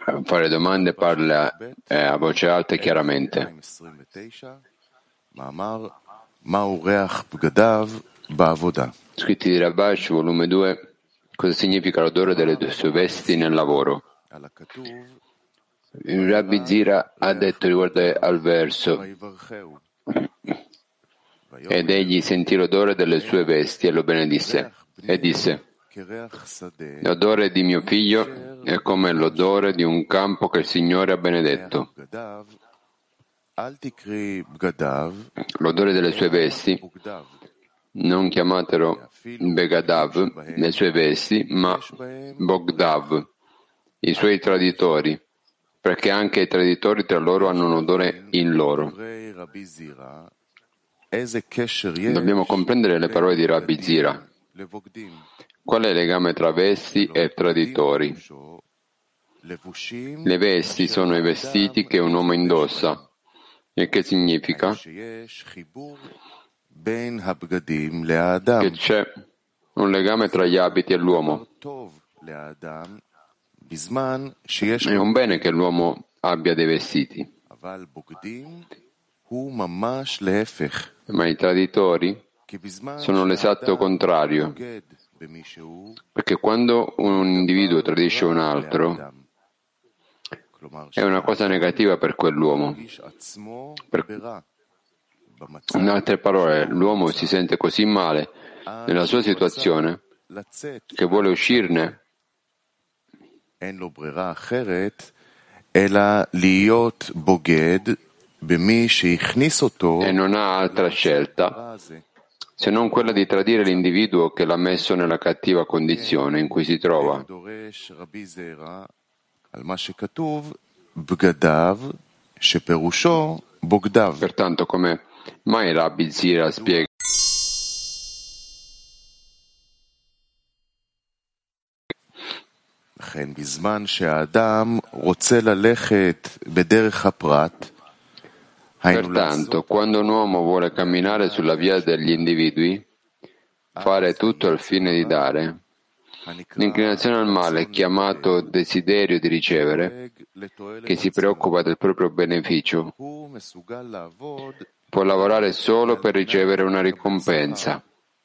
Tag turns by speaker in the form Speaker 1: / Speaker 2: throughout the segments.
Speaker 1: fare domande, parla a voce alta e chiaramente. Scritti di Rabash, volume 2. Cosa significa l'odore delle sue vesti nel lavoro? Il Rabbi Zira ha detto riguardo al verso: ed egli sentì l'odore delle sue vesti e lo benedisse e disse: l'odore di mio figlio è come l'odore di un campo che il Signore ha benedetto. L'odore delle sue vesti, non chiamatelo Begadav, le sue vesti, ma Bogdav, i suoi traditori, perché anche i traditori tra loro hanno un odore in loro. Dobbiamo comprendere le parole di Rabbi Zira. Qual è il legame tra vesti e traditori? Le vesti sono i vestiti che un uomo indossa. E che significa? Che c'è un legame tra gli abiti e l'uomo. È un bene che l'uomo abbia dei vestiti. Ma i traditori sono l'esatto contrario, perché quando un individuo tradisce un altro è una cosa negativa per quell'uomo. In altre parole, l'uomo si sente così male nella sua situazione che vuole uscirne
Speaker 2: e
Speaker 1: non ha altra scelta se non quella di tradire l'individuo che l'ha messo nella cattiva condizione in cui si trova. Pertanto, come mai Rabbi Zira spiega pertanto, quando un uomo vuole camminare sulla via degli individui, fare tutto al fine di dare, l'inclinazione al male, chiamato desiderio di ricevere, che si preoccupa del proprio beneficio, può lavorare solo per ricevere una ricompensa.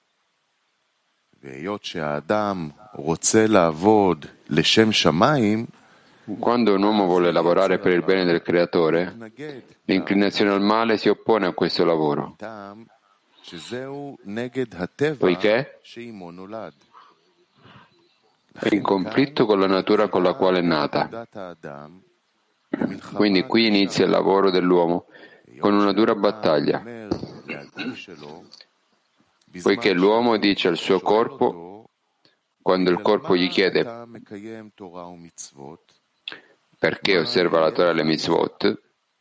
Speaker 1: Quando un uomo vuole lavorare per il bene del Creatore, l'inclinazione al male si oppone a questo lavoro, poiché è in conflitto con la natura con la quale è nata. Quindi qui inizia il lavoro dell'uomo con una dura battaglia, poiché l'uomo dice al suo corpo, quando il corpo gli chiede perché osserva la Torah e le mitzvot,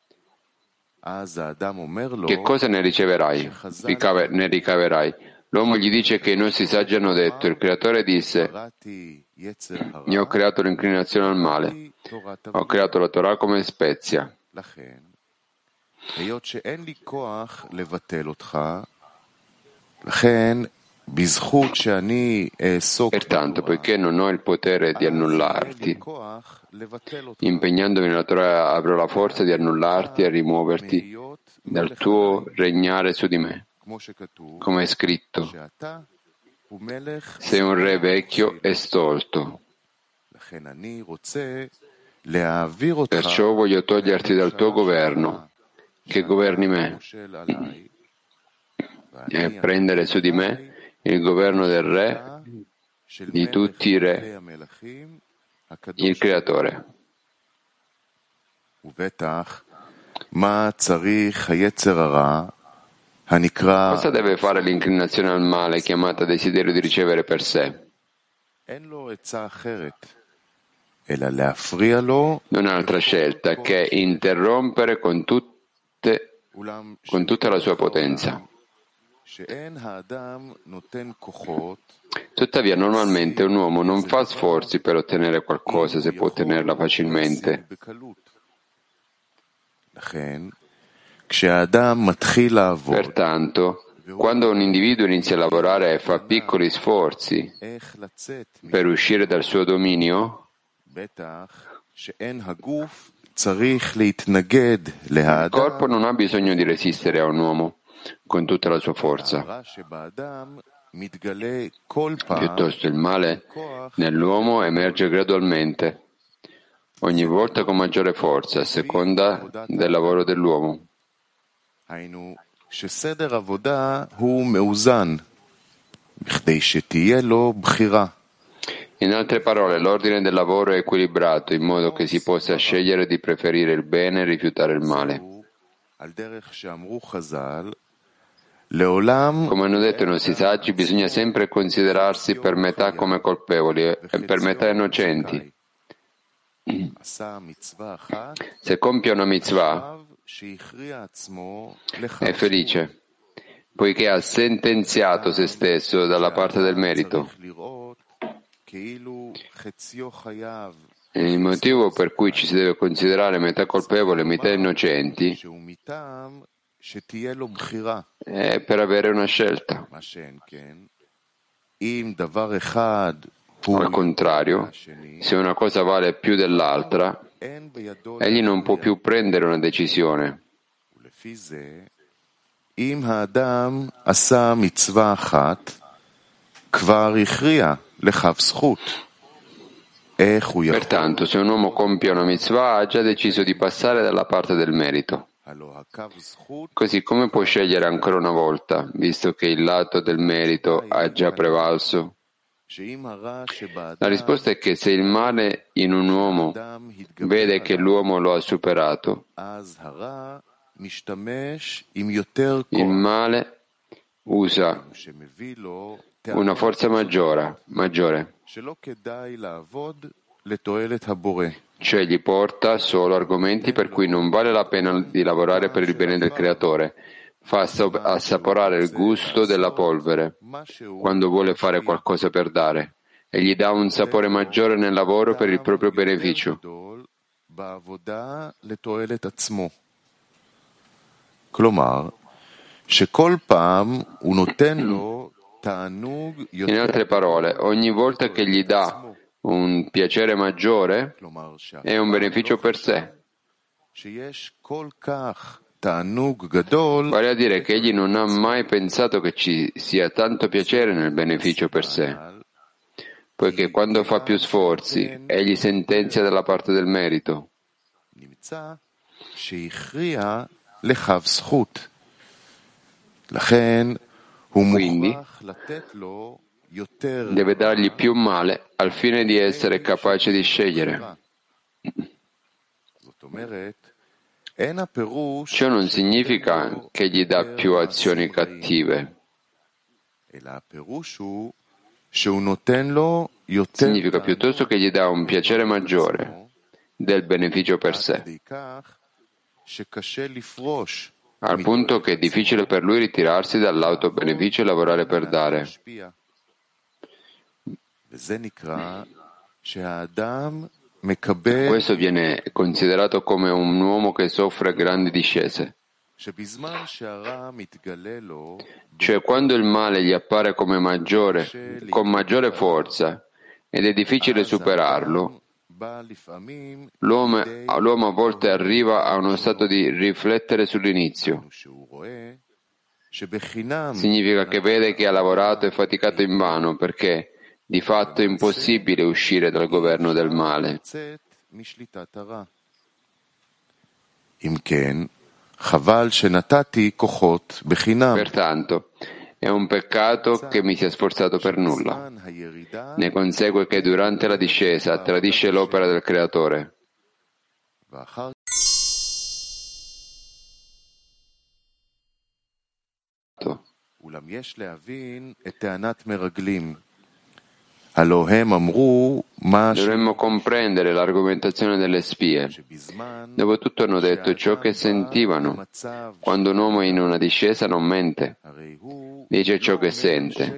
Speaker 1: che cosa ne riceverai? Ne ricaverai? L'uomo gli dice che i nostri saggi hanno detto, il Creatore disse, io ho creato l'inclinazione al male, ho creato la Torah come spezia. Pertanto, poiché non ho il potere di annullarti, impegnandomi nella Torah avrò la forza di annullarti e rimuoverti dal tuo regnare su di me. Come è scritto, sei un re vecchio e stolto. Perciò voglio toglierti dal tuo governo, che governi me, e prendere su di me il governo del re, di tutti i re, il Creatore. Cosa deve fare l'inclinazione al male, chiamata desiderio di ricevere per sé? Non ha altra scelta che interrompere con tutta la sua potenza. Tuttavia, normalmente un uomo non fa sforzi per ottenere qualcosa se può ottenerla facilmente. Pertanto, quando un individuo inizia a lavorare e fa piccoli sforzi per uscire dal suo dominio, Il corpo non ha bisogno di resistere a un uomo con tutta la sua forza. Piuttosto il male nell'uomo emerge gradualmente, ogni volta con maggiore forza, a seconda del lavoro dell'uomo. In altre parole, l'ordine del lavoro è equilibrato in modo che si possa scegliere di preferire il bene e rifiutare il male. Come hanno detto i nostri saggi, bisogna sempre considerarsi per metà come colpevoli e per metà innocenti. Se compie una mitzvah, è felice, poiché ha sentenziato se stesso dalla parte del merito. Il motivo per cui ci si deve considerare metà colpevoli e metà innocenti è per avere una scelta. Al contrario, se una cosa vale più dell'altra, egli non può più prendere una decisione. Pertanto, se un uomo compie una mitzvah, ha già deciso di passare dalla parte del merito. Così come può scegliere ancora una volta, visto che il lato del merito ha già prevalso? La risposta è che se il male in un uomo vede che l'uomo lo ha superato, il male usa una forza maggiore, cioè gli porta solo argomenti per cui non vale la pena di lavorare per il bene del Creatore, fa assaporare il gusto della polvere quando vuole fare qualcosa per dare e gli dà un sapore maggiore nel lavoro per il proprio beneficio. In altre parole, ogni volta che gli dà un piacere maggiore è un beneficio per sé. Vale a dire che egli non ha mai pensato che ci sia tanto piacere nel beneficio per sé, poiché quando fa più sforzi, egli sentenzia dalla parte del merito. Quindi deve dargli più male al fine di essere capace di scegliere. Ciò non significa che gli dà più azioni cattive. Significa piuttosto che gli dà un piacere maggiore del beneficio per sé, al punto che è difficile per lui ritirarsi dall'autobeneficio e lavorare per dare. Questo viene considerato come un uomo che soffre grandi discese. Cioè quando il male gli appare come con maggiore forza ed è difficile superarlo, l'uomo a volte arriva a uno stato di riflettere sull'inizio. Significa che vede che ha lavorato e faticato invano perché di fatto è impossibile uscire dal governo del male. Pertanto, è un peccato che mi sia sforzato per nulla. Ne consegue che durante la discesa tradisce l'opera del Creatore. Dovremmo comprendere l'argomentazione delle spie. Dopotutto hanno detto ciò che sentivano. Quando un uomo è in una discesa non mente, dice ciò che sente.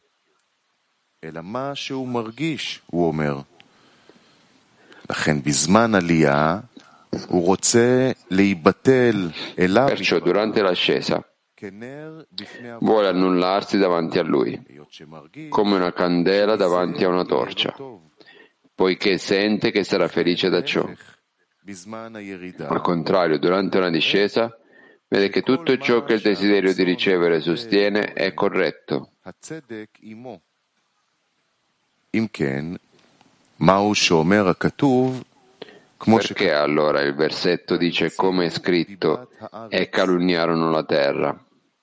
Speaker 1: Perciò durante l'ascesa vuole annullarsi davanti a lui, come una candela davanti a una torcia, poiché sente che sarà felice da ciò. Al contrario, durante una discesa, vede che tutto ciò che il desiderio di ricevere sostiene è corretto. Perché allora il versetto dice, come è scritto, e calunniarono la terra?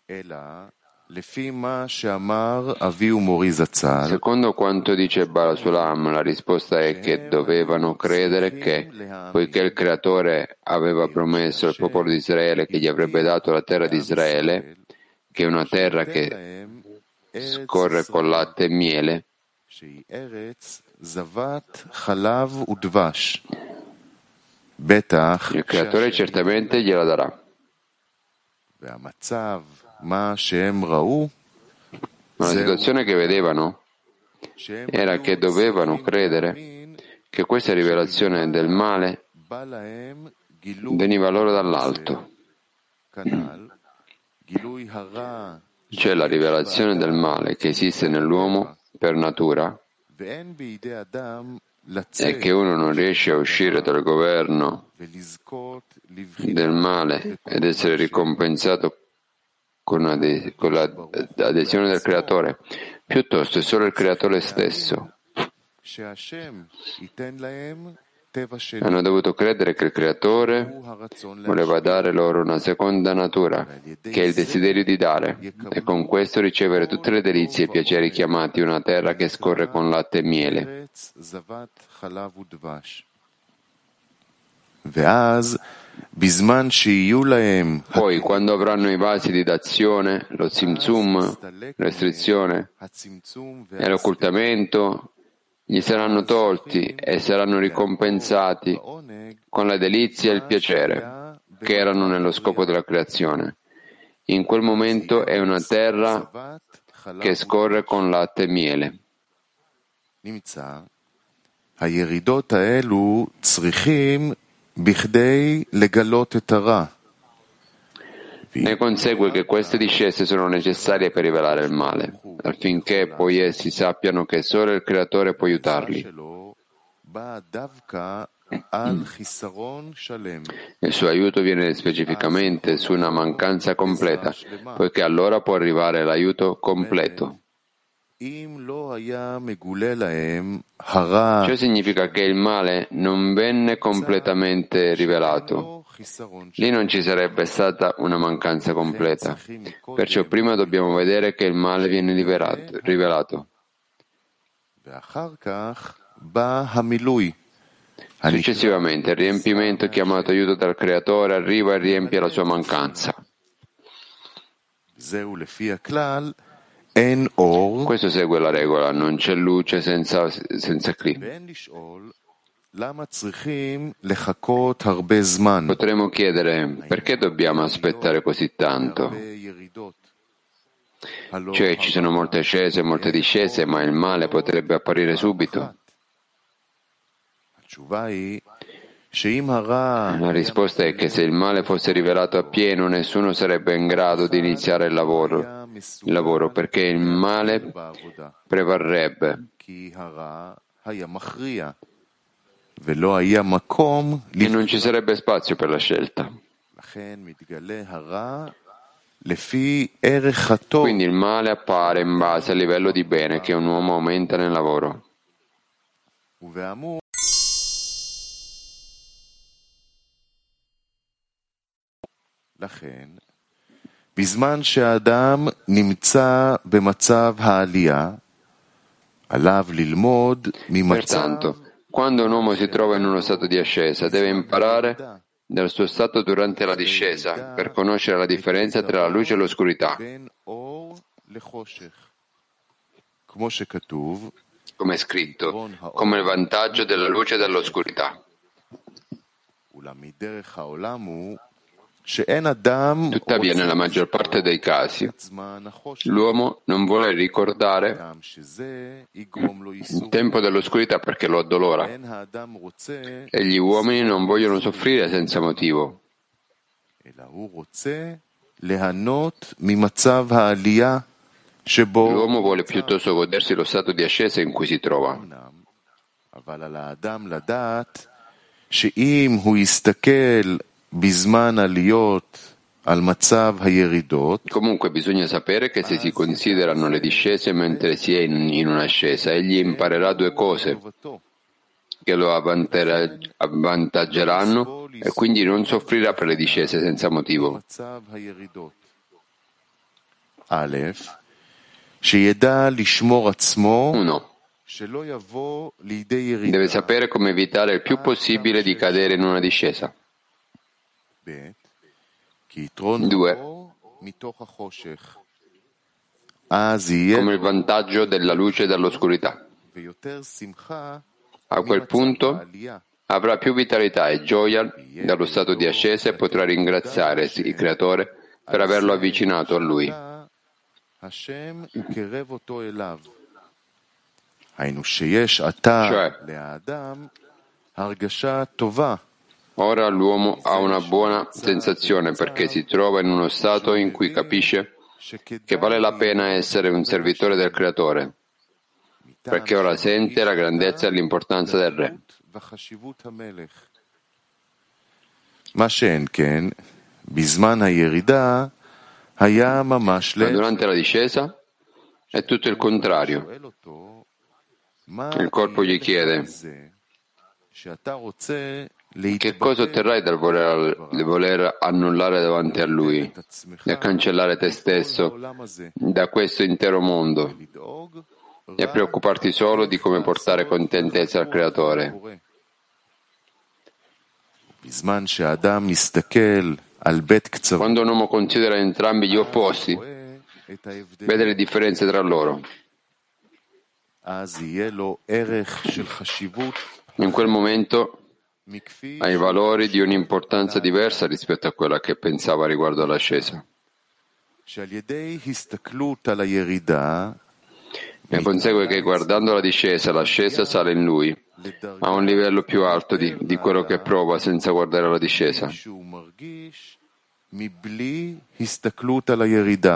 Speaker 1: Secondo quanto dice Barasulam, la risposta è che dovevano credere che, poiché il Creatore aveva promesso al popolo di Israele che gli avrebbe dato la terra di Israele, che è una terra che scorre con latte e miele, il Creatore certamente gliela darà. Ma la situazione che vedevano era che dovevano credere che questa rivelazione del male veniva loro dall'alto. Cioè la rivelazione del male che esiste nell'uomo per natura è che uno non riesce a uscire dal governo del male ed essere ricompensato con l'adesione del Creatore, piuttosto è solo il Creatore stesso. Hanno dovuto credere che il Creatore voleva dare loro una seconda natura, che è il desiderio di dare, e con questo ricevere tutte le delizie e piaceri chiamati una terra che scorre con latte e miele. Poi, quando avranno i vasi di dazione, lo tzimtzum, restrizione e l'occultamento, gli saranno tolti e saranno ricompensati con la delizia e il piacere che erano nello scopo della creazione. In quel momento è una terra che scorre con latte e miele. Ne consegue che queste discese sono necessarie per rivelare il male, affinché poi essi sappiano che solo il Creatore può aiutarli. Il suo aiuto viene specificamente su una mancanza completa, poiché allora può arrivare l'aiuto completo. Ciò significa che il male non venne completamente rivelato. Lì non ci sarebbe stata una mancanza completa. Perciò prima dobbiamo vedere che il male viene rivelato. Successivamente il riempimento chiamato aiuto dal Creatore arriva e riempie la sua mancanza. Questo segue la regola, non c'è luce senza Kli. Potremmo chiedere perché dobbiamo aspettare così tanto? Cioè ci sono molte ascese e molte discese, ma il male potrebbe apparire subito. La risposta è che se il male fosse rivelato appieno, nessuno sarebbe in grado di iniziare il lavoro perché il male prevarrebbe e non ci sarebbe spazio per la scelta. Quindi il male appare in base al livello di bene che un uomo aumenta nel lavoro. Pertanto, quando un uomo si trova in uno stato di ascesa, deve imparare dal suo stato durante la discesa per conoscere la differenza tra la luce e l'oscurità. Come è scritto, come il vantaggio della luce e dell'oscurità. Tuttavia, nella maggior parte dei casi, l'uomo non vuole ricordare il tempo dell'oscurità perché lo addolora e gli uomini non vogliono soffrire senza motivo. L'uomo vuole piuttosto godersi lo stato di ascesa in cui si trova.
Speaker 2: אבל על האדם לדעת שאם הוא יסתכל בזמן עליות על מצב הירידות,
Speaker 1: Comunque bisogna sapere che se si considerano le discese mentre si è in un'ascesa, egli imparerà due cose che lo avvantaggeranno e quindi non soffrirà per le discese senza motivo.
Speaker 2: מצב הירידות. א', שידע לשמור עצמו
Speaker 1: 1.
Speaker 2: שלא יבוא לידי ירידה.
Speaker 1: Deve sapere come evitare il più possibile di cadere in una discesa.
Speaker 2: ב', כי יתרון
Speaker 1: 2.
Speaker 2: אור מתוך החושך. אז יהיה
Speaker 1: Come il vantaggio della luce dall'oscurità.
Speaker 2: ויותר שמחה
Speaker 1: A quel punto
Speaker 2: העלייה.
Speaker 1: avrà più vitalità e gioia dallo stato di ascesa e potrà ringraziare il Creatore per averlo avvicinato a Lui.
Speaker 2: השם יקרב אותו אליו. היינו שיש עתה
Speaker 1: Cioè,
Speaker 2: לאדם הרגשה טובה.
Speaker 1: Ora l'uomo ha una buona sensazione perché si trova in uno stato in cui capisce che vale la pena essere un servitore del Creatore, perché ora sente la grandezza e l'importanza del Re.
Speaker 2: וחשיבות המלך. מה שאין כן, בזמן הירידה היה ממש
Speaker 1: Ma durante la discesa è tutto il contrario.
Speaker 2: שואל אותו, מה
Speaker 1: Il corpo gli chiede:
Speaker 2: זה שאתה רוצה
Speaker 1: che cosa otterrai dal voler annullare davanti a Lui e cancellare te stesso da questo intero mondo e preoccuparti solo di come portare contentezza al Creatore?
Speaker 2: בזמן שהאדם מסתכל על בית קצוות,
Speaker 1: Quando un uomo considera entrambi gli opposti,
Speaker 2: את ההבדל,
Speaker 1: vede le differenze tra loro.
Speaker 2: אז יהיה לו ערך של חשיבות
Speaker 1: In quel momento
Speaker 2: מכפי
Speaker 1: ha i valori di un'importanza diversa rispetto a quella che pensava riguardo all'ascesa.
Speaker 2: שעל ידי הסתכלות על הירידה
Speaker 1: Ne consegue che guardando la discesa, l'ascesa sale in lui, a un livello più alto di quello che prova senza guardare la discesa.
Speaker 2: שהוא מרגיש מבלי הסתכלות על הירידה.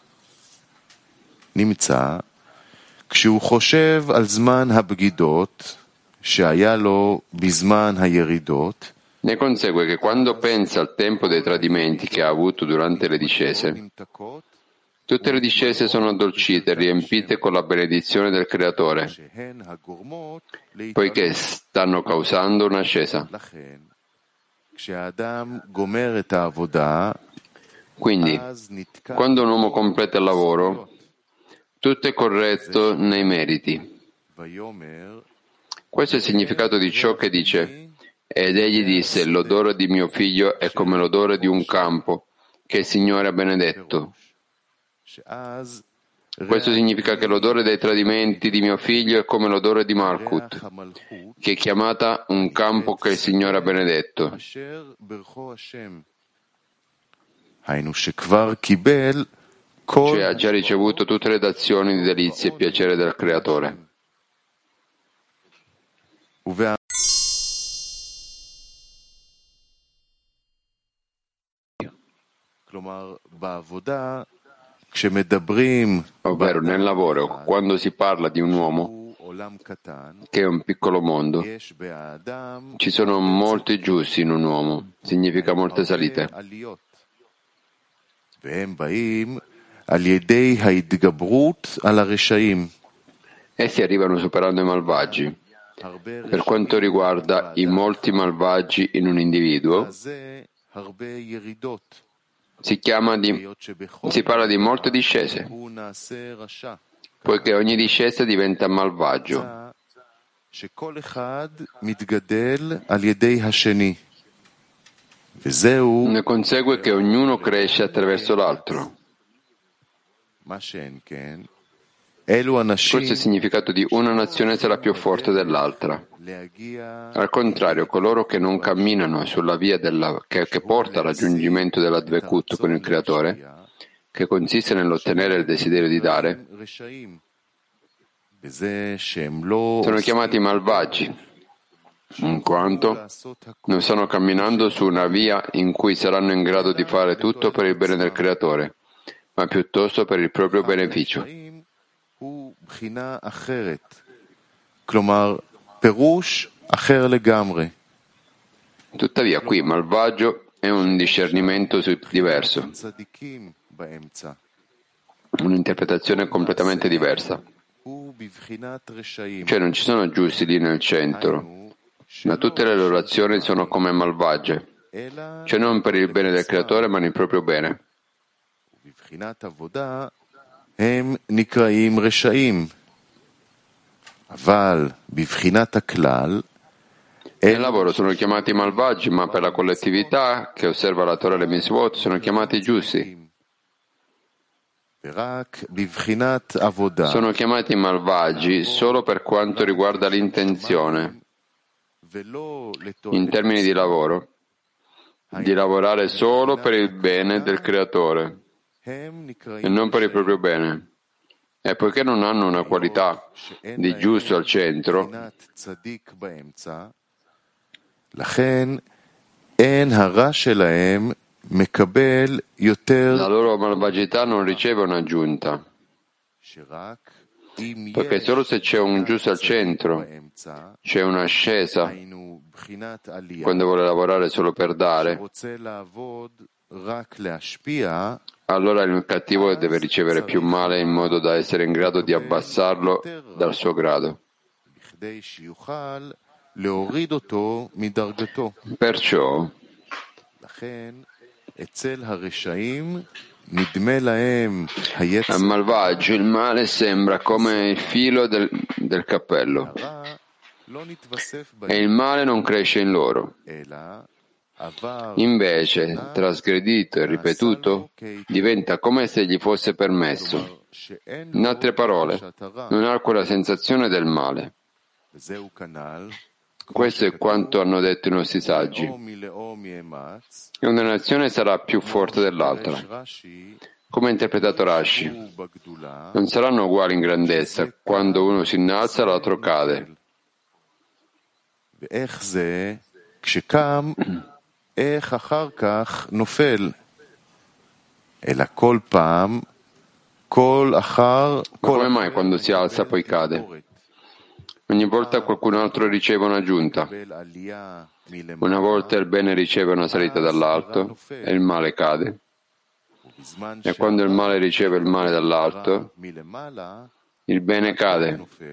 Speaker 2: נמצא כשהוא חושב על זמן הבגידות שהיה לו בזמן הירידות,
Speaker 1: Ne consegue che quando pensa al tempo dei tradimenti che ha avuto durante le discese,
Speaker 2: נמתקות,
Speaker 1: tutte le discese sono addolcite e riempite con la benedizione del Creatore,
Speaker 2: שהן הגורמות
Speaker 1: poiché stanno causando un'ascesa.
Speaker 2: לכן, כשהאדם גומר את העבודה,
Speaker 1: Quindi,
Speaker 2: אז נתקע
Speaker 1: quando un uomo completa il lavoro, tutto è corretto nei meriti.
Speaker 2: ויאמר,
Speaker 1: Questo è il significato di ciò che dice: ed egli disse, l'odore di mio figlio è come l'odore di un campo che il Signore ha benedetto.
Speaker 2: שאז
Speaker 1: Questo significa che l'odore dei tradimenti di mio figlio è come l'odore di Malkut,
Speaker 2: ריח המלכות
Speaker 1: che è chiamata un campo che il Signore ha benedetto.
Speaker 2: אשר ברכו השם. היינו שכבר קיבל כל
Speaker 1: Cioè ha già ricevuto tutte le dazioni di delizie e piacere del Creatore.
Speaker 2: ובא- כלומר, בעבודה, כשמדברים
Speaker 1: Ovvero nel lavoro, quando si parla di un uomo
Speaker 2: הוא עולם קטן,
Speaker 1: che è un piccolo mondo,
Speaker 2: יש באדם
Speaker 1: ci sono molti giusti in un uomo, significa molte salite.
Speaker 2: עליות. והם באים על ידי ההתגברות על הרשעים.
Speaker 1: Essi arrivano superando i malvagi.
Speaker 2: הרבה
Speaker 1: Per quanto riguarda i molti malvagi in un individuo,
Speaker 2: זה הרבה ירידות.
Speaker 1: si parla di molte discese,
Speaker 2: הוא נעשה רשע.
Speaker 1: poiché ogni discesa diventa malvagio.
Speaker 2: שכל אחד מתגדל על ידי השני. וזהו
Speaker 1: Ne consegue che ognuno cresce attraverso l'altro.
Speaker 2: מה שאין כן. אלו אנשים
Speaker 1: Questo è il significato di una nazione sarà più forte dell'altra.
Speaker 2: להגיע
Speaker 1: Al contrario, coloro che non camminano sulla via che porta al raggiungimento della Dvekut con il Creatore, che consiste nell'ottenere il desiderio di dare,
Speaker 2: רשעים. בזה שהם לא
Speaker 1: sono chiamati malvagi, in quanto non stanno camminando su una via in cui saranno in grado di fare tutto per il bene del Creatore, ma piuttosto per il proprio beneficio.
Speaker 2: הוא בחינה אחרת. כלומר, פירוש אחר לגמרי.
Speaker 1: Tuttavia qui malvagio è un discernimento diverso,
Speaker 2: צדיקים באמצע.
Speaker 1: un'interpretazione completamente diversa.
Speaker 2: הוא בבחינת רשעים.
Speaker 1: Cioè non ci sono giusti lì nel centro, ma tutte le loro azioni sono come malvagie, cioè non per il bene del creatore ma nel proprio bene.
Speaker 2: בבחינת עבודה הם נקראים רשעים. אבל בבחינת הכלל
Speaker 1: Nel lavoro sono chiamati malvagi, ma per la collettività che osserva la Torah e le Mitzvot sono chiamati giusti.
Speaker 2: ורק בבחינת עבודה
Speaker 1: Sono chiamati malvagi solo per quanto riguarda l'intenzione,
Speaker 2: ולא
Speaker 1: in termini di lavoro, di lavorare solo per il bene del creatore
Speaker 2: הם
Speaker 1: e
Speaker 2: נקראים
Speaker 1: non per il proprio bene. E poiché non hanno una qualità di giusto al centro,
Speaker 2: בבחינת צדיק באמצע, לכן אין הרע שלהם מקבל יותר
Speaker 1: la loro malvagità non riceve un'aggiunta,
Speaker 2: שרק אם
Speaker 1: perché solo se c'è un giusto al centro,
Speaker 2: באמצע,
Speaker 1: c'è un'ascesa
Speaker 2: היינו בחינת עלייה,
Speaker 1: quando vuole lavorare solo per dare,
Speaker 2: שרוצה לעבוד רק להשפיע,
Speaker 1: allora il cattivo deve ricevere più male in modo da essere in grado di abbassarlo dal suo grado.
Speaker 2: בכדי שיוכל להוריד אותו מדרגתו.
Speaker 1: Perciò,
Speaker 2: לכן אצל הרשעים נדמה להם
Speaker 1: al
Speaker 2: היצר
Speaker 1: malvagio il male sembra come il filo del cappello
Speaker 2: הרע לא נתווסף
Speaker 1: e
Speaker 2: בהם,
Speaker 1: il male non cresce in loro.
Speaker 2: אלא עבר
Speaker 1: Invece, trasgredito e ripetuto, diventa come se gli fosse permesso.
Speaker 2: שאין
Speaker 1: In altre parole,
Speaker 2: תחושת הרע,
Speaker 1: non ha quella sensazione del male.
Speaker 2: וזהו כנ"ל,
Speaker 1: Questo è quanto hanno detto i nostri saggi.
Speaker 2: לאום מלאום יאמץ,
Speaker 1: E una nazione sarà più forte dell'altra.
Speaker 2: יש רש"י,
Speaker 1: Come ha interpretato Rashi,
Speaker 2: הוא בגדולה,
Speaker 1: non saranno uguali in grandezza. Quando uno si innalza, l'altro cade.
Speaker 2: ואיך זה, כשקם, איך אחר כך נופל, אלא כל פעם, כל אחר,
Speaker 1: Ma come mai quando si alza poi cade? Ogni volta qualcun altro riceve un'aggiunta.
Speaker 2: מקבל עלייה מלמעלה,
Speaker 1: Una volta il bene riceve una salita dall'alto e il male cade.
Speaker 2: ובזמן
Speaker 1: E quando il male riceve il male
Speaker 2: שהרע
Speaker 1: dall'alto,
Speaker 2: מלמעלה,
Speaker 1: il bene cade.
Speaker 2: נופל.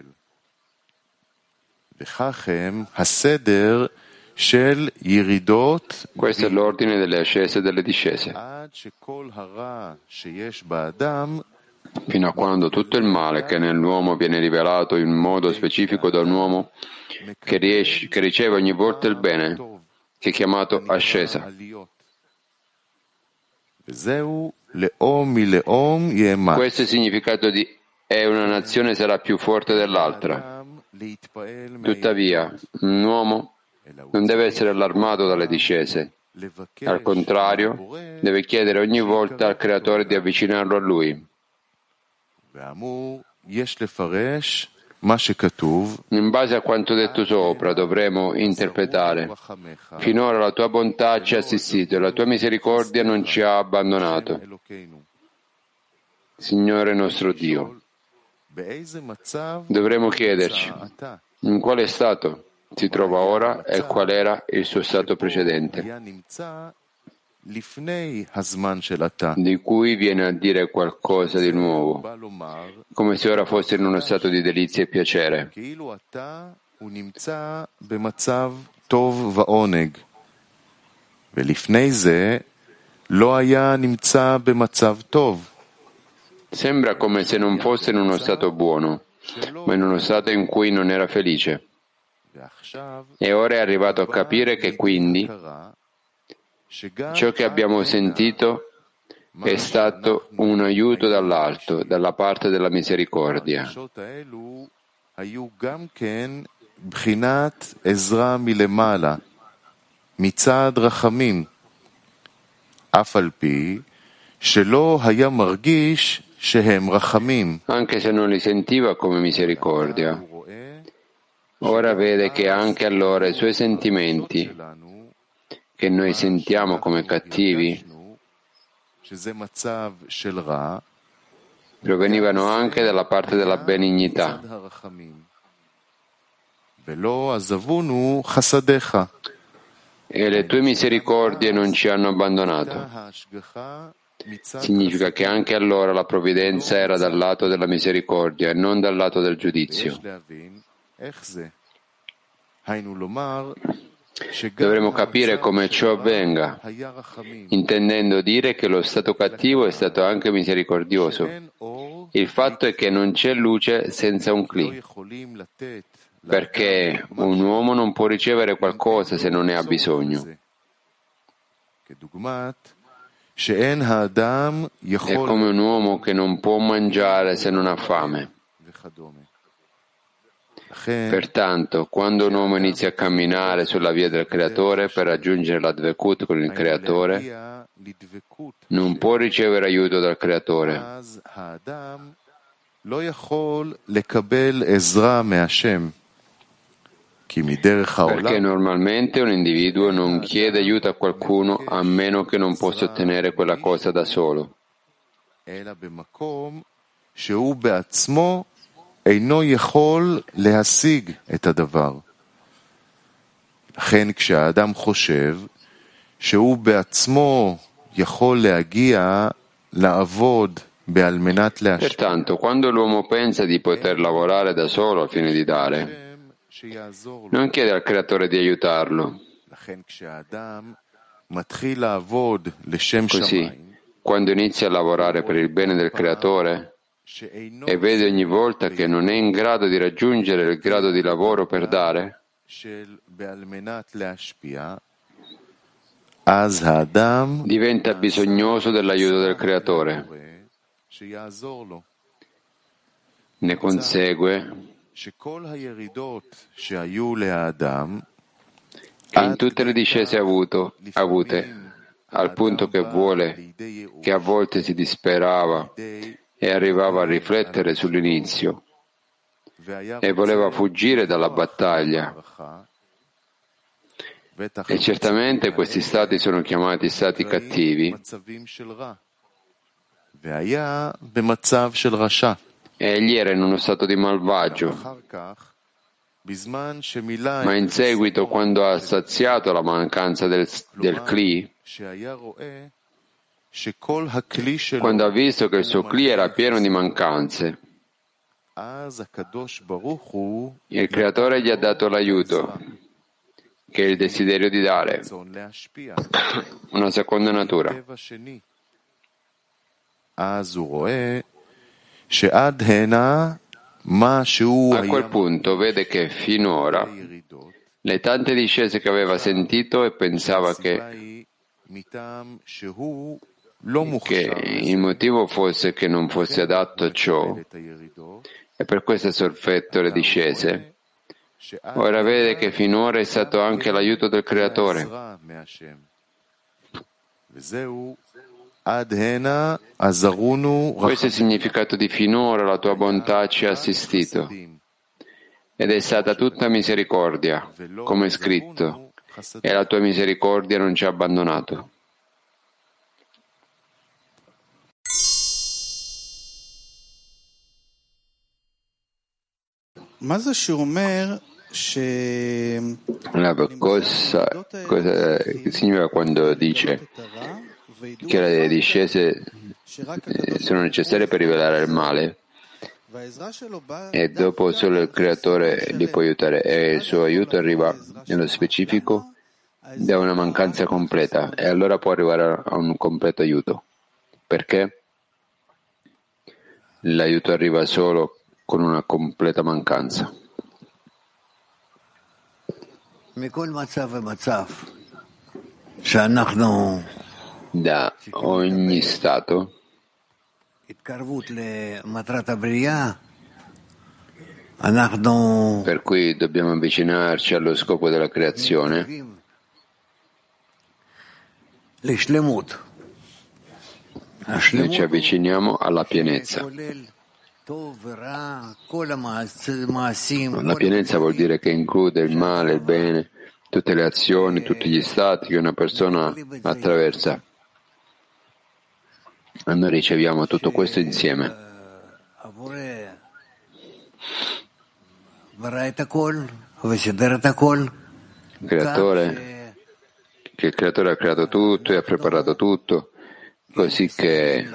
Speaker 2: וכך הם הסדר של ירידות
Speaker 1: Questo è l'ordine delle ascese e delle discese,
Speaker 2: עד שכל הרע שיש באדם
Speaker 1: fino a quando tutto il male che nell'uomo viene rivelato in modo specifico da un uomo che riceve ogni volta il bene, che è chiamato ascesa.
Speaker 2: עליות. וזהו לאום מלאום יאמץ.
Speaker 1: Questo è il significato di e una nazione sarà più forte dell'altra.
Speaker 2: אדם להתפעל
Speaker 1: Tuttavia, un uomo non deve essere allarmato dalle discese.
Speaker 2: לבקש
Speaker 1: Al contrario, deve chiedere ogni volta al Creatore di avvicinarlo a Lui.
Speaker 2: ואמור יש לפרש מה שכתוב
Speaker 1: In base a quanto detto sopra, dovremo interpretare: finora la tua bontà ci ha assistito e la tua misericordia non ci ha abbandonato.
Speaker 2: אלוקינו.
Speaker 1: Signore nostro Dio,
Speaker 2: באיזה מצב
Speaker 1: dovremo chiederci
Speaker 2: אתה
Speaker 1: in quale stato si trova ora e qual era il suo stato precedente,
Speaker 2: היה נמצא לפני הזמן של אתה.
Speaker 1: di cui viene a dire qualcosa di nuovo,
Speaker 2: בא לומר
Speaker 1: come se ora fosse in uno stato di delizia e piacere.
Speaker 2: כאילו אתה הוא נמצא במצב טוב ועונג, ולפני זה לא היה נמצא במצב טוב.
Speaker 1: Sembra come se non fosse in uno stato buono, ma in uno stato in cui non era felice.
Speaker 2: ועכשיו
Speaker 1: E ora è arrivato a capire che quindi
Speaker 2: קרה שגם
Speaker 1: ciò che abbiamo sentito è stato un aiuto dall'alto, dalla parte della misericordia.
Speaker 2: הרגשות האלו היו גם כן בחינת עזרה מלמעלה, מצד רחמים, אף על פי שלא היה מרגיש שהם רחמים.
Speaker 1: Anche se non li sentiva come misericordia,
Speaker 2: הוא רואה
Speaker 1: ora vede che anche allora i suoi sentimenti,
Speaker 2: שלנו,
Speaker 1: che noi sentiamo come cattivi,
Speaker 2: הרגשנו שזה מצב של רע,
Speaker 1: provenivano anche dalla parte della benignità,
Speaker 2: מצד הרחמים.
Speaker 1: e le tue misericordie non ci hanno abbandonato. Significa che anche allora la provvidenza era dal lato della misericordia e non dal lato del giudizio. Dovremo capire come ciò avvenga, intendendo dire che lo stato cattivo è stato anche misericordioso. Il fatto è che non c'è luce senza un Kli, perché un uomo non può ricevere qualcosa se non ne ha bisogno. È come un uomo che non può mangiare se non ha fame. Pertanto, quando un uomo inizia a camminare sulla via del Creatore per raggiungere la Dvekut con il Creatore, non può ricevere aiuto dal Creatore. Perché normalmente un individuo non chiede aiuto a qualcuno a meno che non possa ottenere quella cosa da solo.
Speaker 2: לכן כשהאדם חושב שהוא בעצמו יכול להגיע לעבוד על מנת להשפיע.
Speaker 1: Pertanto, quando l'uomo pensa di poter lavorare da solo al fine di dare, non chiede al Creatore di aiutarlo. Così, quando inizia a lavorare per il bene del Creatore e vede ogni volta che non è in grado di raggiungere il grado di lavoro per dare, diventa bisognoso dell'aiuto del Creatore. Ne consegue che in tutte le discese avute, al punto che vuole, che a volte si disperava e arrivava a riflettere sull'inizio e voleva fuggire dalla battaglia. E certamente questi stati sono chiamati stati cattivi. E egli era in uno stato di malvagio. Ma in seguito, quando ha saziato la mancanza del Kli, quando ha visto che il suo Kli era pieno di mancanze, il Creatore gli ha dato l'aiuto, che è il desiderio di dare, una seconda natura. A quel punto vede che finora le tante discese che aveva sentito e pensava che il motivo fosse che non fosse adatto a ciò e per questo ha sofferto le discese, ora vede che finora è stato anche l'aiuto del Creatore. Questo è il significato di finora la tua bontà ci ha assistito ed è stata tutta misericordia, come è scritto, e la tua misericordia non ci ha abbandonato. Cosa significa quando dice che le discese sono necessarie per rivelare il male e dopo solo il Creatore li può aiutare e il suo aiuto arriva nello specifico da una mancanza completa e allora può arrivare a un completo aiuto. Perché? L'aiuto arriva solo con una completa mancanza. Da ogni stato per cui dobbiamo avvicinarci allo scopo della creazione, noi ci avviciniamo alla pienezza. La pienezza vuol dire che include il male, il bene, tutte le azioni, tutti gli stati che una persona attraversa. E noi riceviamo tutto questo insieme. creatore, che il creatore ha creato tutto e ha preparato tutto, così che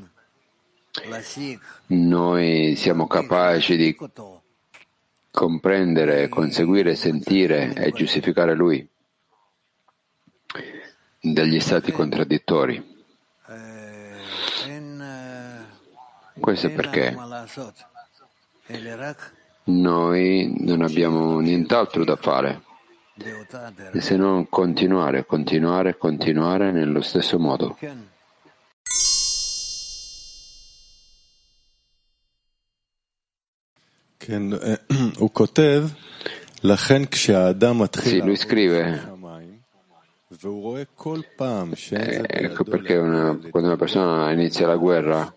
Speaker 1: noi siamo capaci di comprendere, conseguire, sentire e giustificare Lui dagli stati contraddittori. Questo è perché noi non abbiamo nient'altro da fare se non continuare, continuare, continuare nello stesso modo. Sì, lui scrive, ecco perché quando una persona inizia la guerra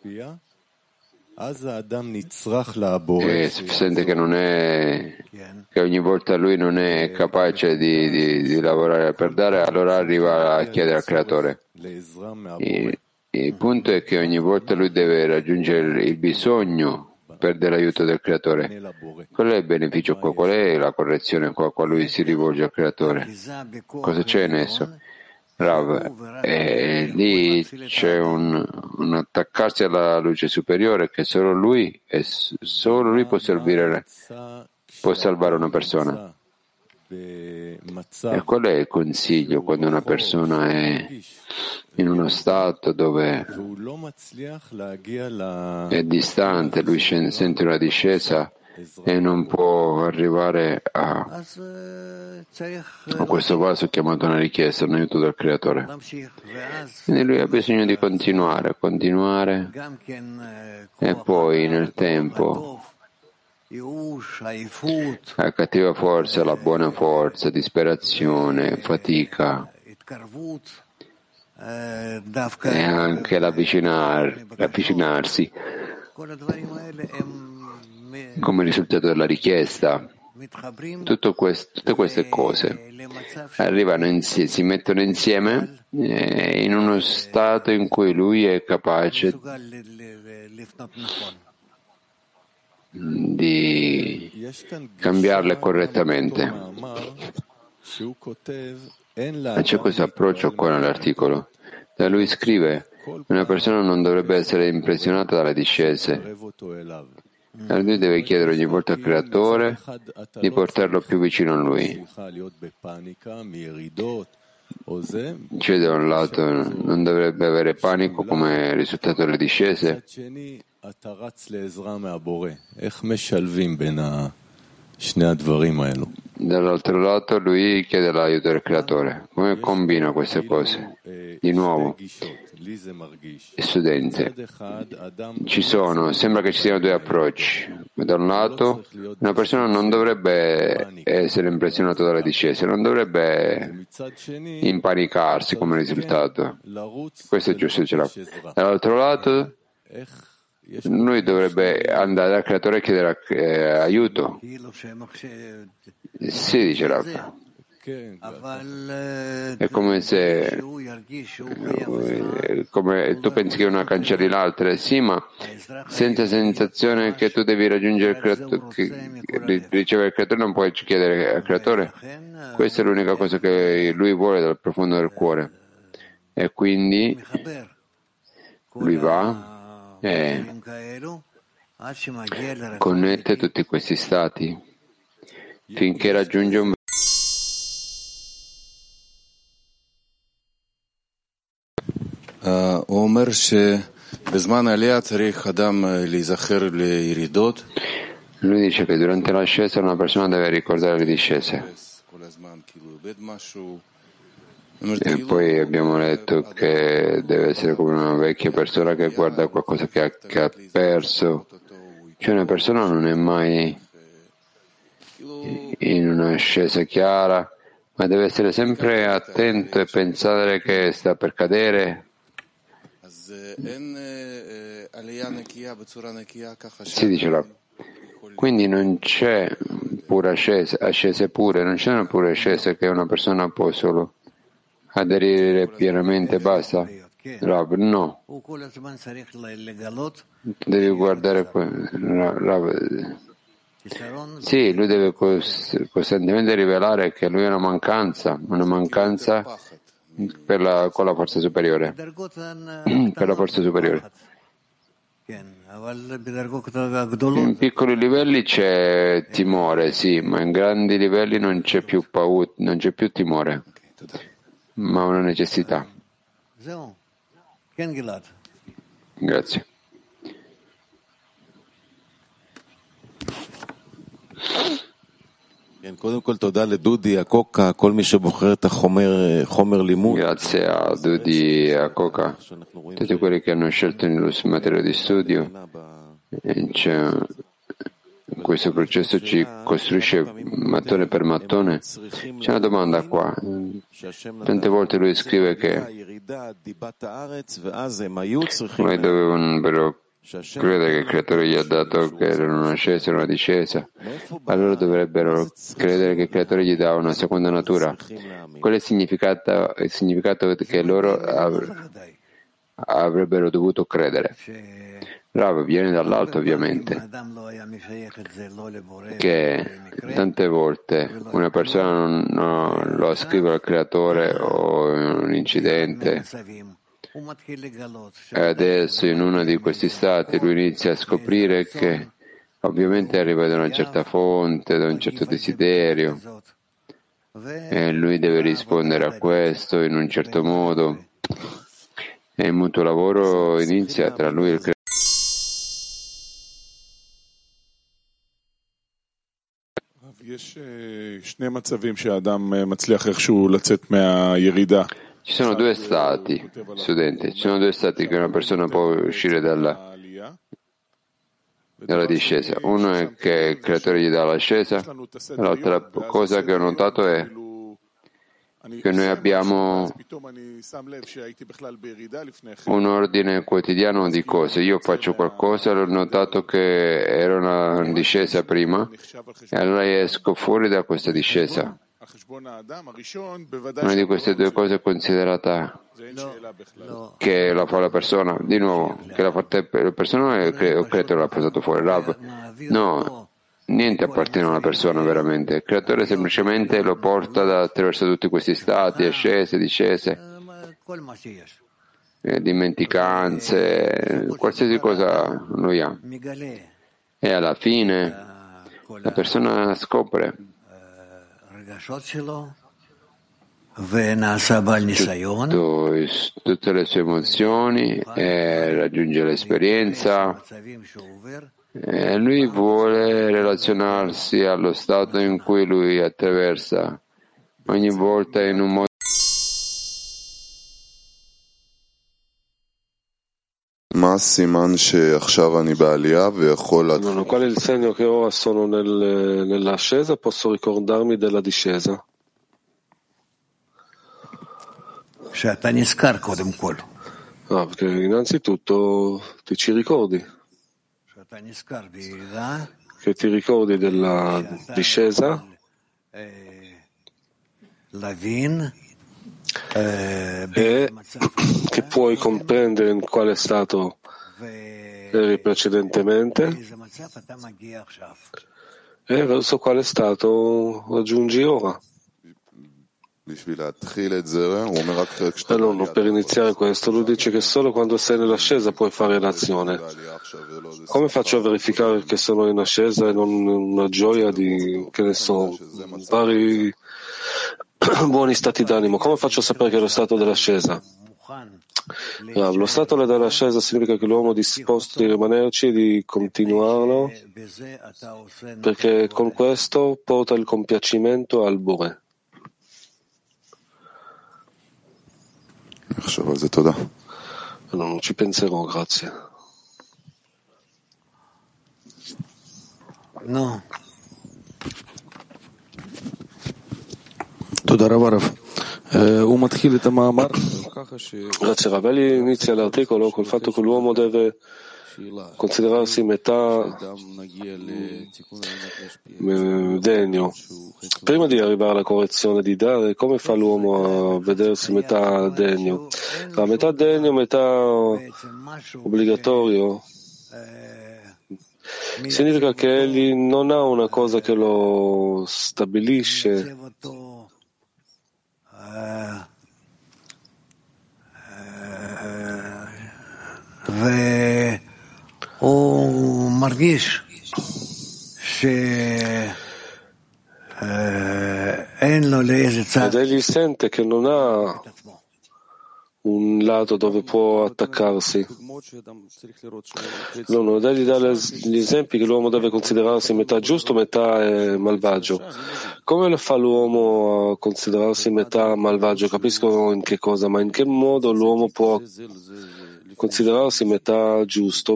Speaker 1: e sente che ogni volta lui non è capace di lavorare per dare, allora arriva a chiedere al creatore. Il punto è che ogni volta lui deve raggiungere il bisogno per l'aiuto del creatore. Qual è il beneficio qua? Qual è la correzione qua? Qua lui si rivolge al creatore. Cosa c'è in esso? Rav, lì c'è un attaccarsi alla luce superiore che solo lui può salvare una persona. E qual è il consiglio quando una persona è in uno stato dove è distante, lui sente una discesa e non può arrivare a questo vaso chiamato una richiesta, un aiuto dal creatore. Quindi lui ha bisogno di continuare, continuare e poi nel tempo la cattiva forza, la buona forza, disperazione, fatica e anche l'avvicinarsi come risultato della richiesta. Tutte queste cose arrivano si mettono insieme in uno stato in cui lui è capace di cambiarle correttamente. Ma c'è questo approccio qua nell'articolo. Da lui scrive: una persona non dovrebbe essere impressionata dalle discese. Lui deve chiedere ogni volta al creatore di portarlo più vicino a lui. Cioè, da un lato non dovrebbe avere panico come risultato delle discese, dall'altro lato lui chiede l'aiuto del creatore. Come combina queste cose? Di nuovo, studente, sembra che ci siano due approcci. Da un lato, una persona non dovrebbe essere impressionata dalle discese, non dovrebbe impanicarsi come risultato. Questo è giusto, ce l'ha. Dall'altro lato, lui dovrebbe andare dal creatore e chiedere aiuto. Sì, dice Rav. È come se tu pensi che una cancelli l'altra, sì, ma senza sensazione che tu devi raggiungere il creatore, ricevere il creatore, non puoi chiedere al creatore. Questa è l'unica cosa che lui vuole dal profondo del cuore. E quindi lui va e connette tutti questi stati finché raggiunge un
Speaker 3: lui
Speaker 1: dice che durante l'ascesa una persona deve ricordare le discese. E poi abbiamo letto che deve essere come una vecchia persona che guarda qualcosa che ha perso. Cioè una persona non è mai in un'ascesa chiara, ma deve essere sempre attento e pensare che sta per cadere. Si dice là. Quindi non c'è pura ascese pure, non c'è una pura ascesa che una persona può solo aderire pienamente e basta. Rav, no. Devi guardare Rav, Sì, lui deve costantemente rivelare che lui è una mancanza con la forza superiore, per la forza superiore. In piccoli livelli c'è timore, sì, ma in grandi livelli non c'è più paura, non c'è più timore, ma una necessità. Grazie. Grazie a Dudi e a Coca, tutti quelli che hanno scelto il materiale di studio. C'è questo processo ci costruisce mattone per mattone. C'è una domanda qua. Tante volte lui scrive che noi dovevano credere che il creatore gli ha dato che era una ascesa e una discesa, allora dovrebbero credere che il creatore gli dà una seconda natura. Qual è il significato che loro avrebbero dovuto credere? Rav viene dall'alto, ovviamente, che tante volte una persona non lo ascrive al creatore o in un incidente. E adesso in uno di questi stati lui inizia a scoprire che ovviamente arriva da una certa fonte, da un certo desiderio, e lui deve rispondere a questo in un certo modo, e il mutuo lavoro inizia tra lui e il creatore. Ci sono due stati, studenti, ci sono due stati che una persona può uscire dalla discesa. Uno è che il creatore gli dà l'ascesa, l'altra cosa che ho notato è che noi abbiamo un ordine quotidiano di cose. Io faccio qualcosa, ho notato che era una discesa prima e allora esco fuori da questa discesa. Una di queste due cose è considerata che la fa la persona. Di nuovo, che la fa la persona o il creatore l'ha portato fuori? Rav? No. Niente appartiene a una persona veramente, il creatore semplicemente lo porta attraverso tutti questi stati, ascese, discese, dimenticanze, qualsiasi cosa lui ha. E alla fine la persona scopre tutte le sue emozioni e raggiunge l'esperienza. E lui vuole relazionarsi allo stato in cui lui attraversa ogni volta in un modo.
Speaker 3: Qual è il segno che ora sono nell'ascesa? Posso ricordarmi della discesa? Perché innanzitutto ci ricordi. Che ti ricordi della discesa e che puoi comprendere in quale stato eri precedentemente e verso quale stato raggiungi ora. Allora, per iniziare questo, lui dice che solo quando sei nell'ascesa puoi fare l'azione. Come faccio a verificare che sono in ascesa e non una gioia di, che ne so, vari buoni stati d'animo? Come faccio a sapere che è lo stato dell'ascesa? Lo stato dell'ascesa significa che l'uomo è disposto di rimanerci e di continuarlo, perché con questo porta il compiacimento al Bore. Non ci penserò, grazie.
Speaker 4: No.
Speaker 3: Grazie Ravelli inizia l'articolo col fatto che l'uomo deve considerarsi metà degno. Prima di arrivare alla correzione di dare, come fa l'uomo a vedersi metà degno? La metà degno, metà obbligatorio Significa che egli non ha una cosa che lo stabilisce, ed egli sente che non ha un lato dove può attaccarsi. Ed egli dà gli esempi che l'uomo deve considerarsi metà giusto, metà malvagio. Come lo fa l'uomo a considerarsi metà malvagio? Capisco in che cosa, ma in che modo l'uomo può considerarsi metà giusto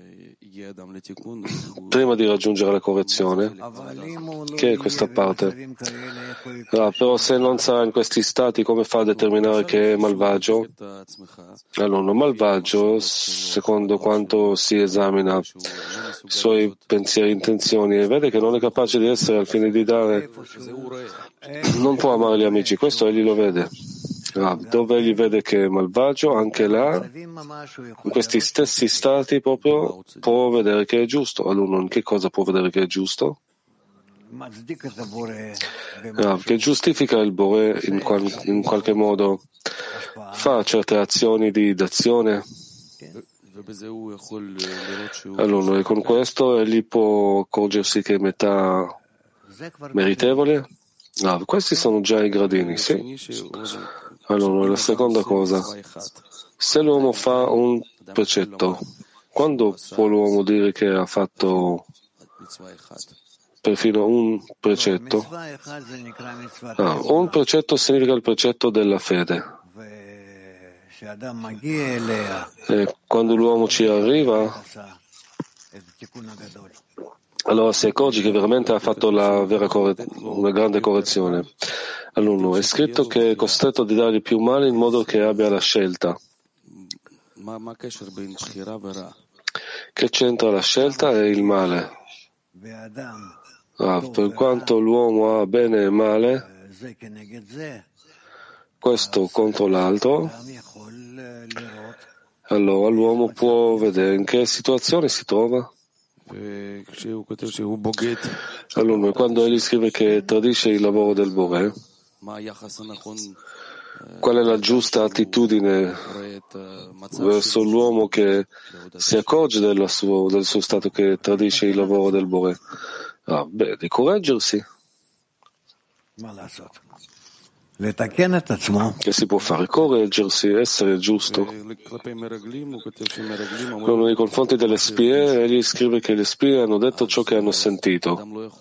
Speaker 3: prima di raggiungere la correzione? Che è questa parte? Però se non sarà in questi stati, come fa a determinare che è malvagio? Allora, malvagio, secondo quanto si esamina i suoi pensieri e intenzioni e vede che non è capace di essere al fine di dare, non può amare gli amici, questo egli lo vede. Dove egli vede che è malvagio, anche là, in questi stessi stati proprio, può vedere che è giusto. Allora, in che cosa può vedere che è giusto? Che giustifica il Bore in qualche modo, fa certe azioni di d'azione. Allora, e con questo egli può accorgersi che è metà meritevole. Questi sono già i gradini, sì. Allora, la seconda cosa, se l'uomo fa un precetto, quando può l'uomo dire che ha fatto perfino un precetto? Un precetto significa il precetto della fede. E quando l'uomo ci arriva, allora si accorge che veramente ha fatto una grande correzione. Allora, è scritto che è costretto di dargli più male in modo che abbia la scelta. Che c'entra la scelta e il male? Per quanto l'uomo ha bene e male, questo contro l'altro, allora l'uomo può vedere in che situazione si trova. Allora, quando egli scrive che tradisce il lavoro del Bore, qual è la giusta attitudine verso l'uomo che si accorge del suo stato che tradisce il lavoro del Bore? Di correggersi. Che si può fare? Correggersi, essere giusto. Nei confronti delle spie, egli scrive che le spie hanno detto ciò che hanno sentito.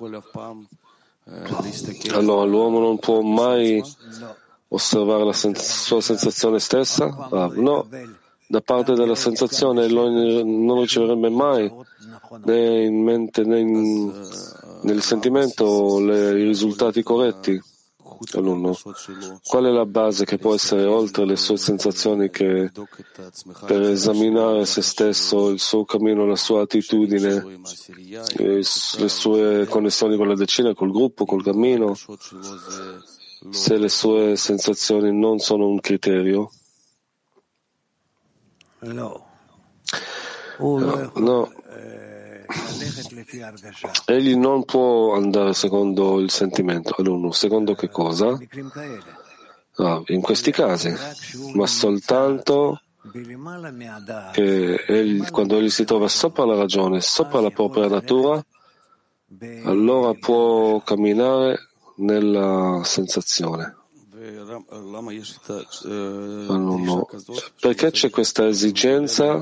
Speaker 3: Allora l'uomo non può mai osservare la sua sensazione stessa? No, da parte della sensazione non riceverebbe mai né in mente né nel sentimento i risultati corretti. Allora, qual è la base che può essere oltre le sue sensazioni che per esaminare se stesso, il suo cammino, la sua attitudine, le sue connessioni con la decina, col gruppo, col cammino, se le sue sensazioni non sono un criterio? No. Egli non può andare secondo il sentimento. Allora, secondo che cosa? In questi casi, ma soltanto che quando egli si trova sopra la ragione, sopra la propria natura, allora può camminare nella sensazione. Allora, perché c'è questa esigenza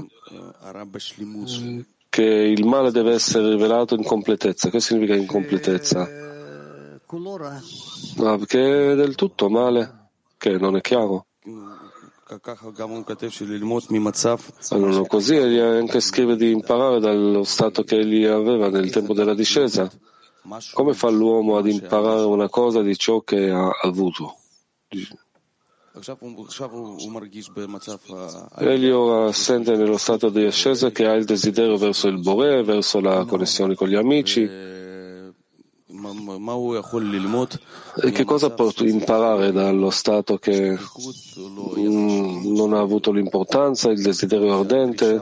Speaker 3: che il male deve essere rivelato in completezza? Che significa incompletezza? Perché è del tutto male, che non è chiaro. Allora, così egli anche scrive di imparare dallo stato che egli aveva nel tempo della discesa. Come fa l'uomo ad imparare una cosa di ciò che ha avuto? Egli ora sente nello stato di ascesa che ha il desiderio verso il Bore, verso la connessione con gli amici. E che cosa può imparare dallo stato che non ha avuto l'importanza, il desiderio ardente,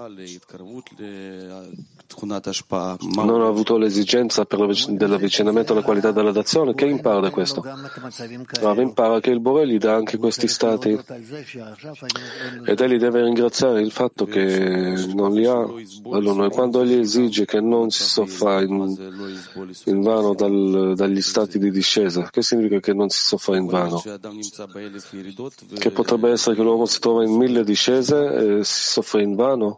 Speaker 3: non ha avuto l'esigenza dell'avvicinamento alla qualità della dazione? Che impara da questo? Impara che il Boré gli dà anche questi stati ed egli deve ringraziare il fatto che non li ha. Allora, quando egli esige che non si soffra in vano dagli stati di discesa, che significa che non si soffra in vano? Che potrebbe essere che l'uomo si trova in 1000 discese e si soffre in vano?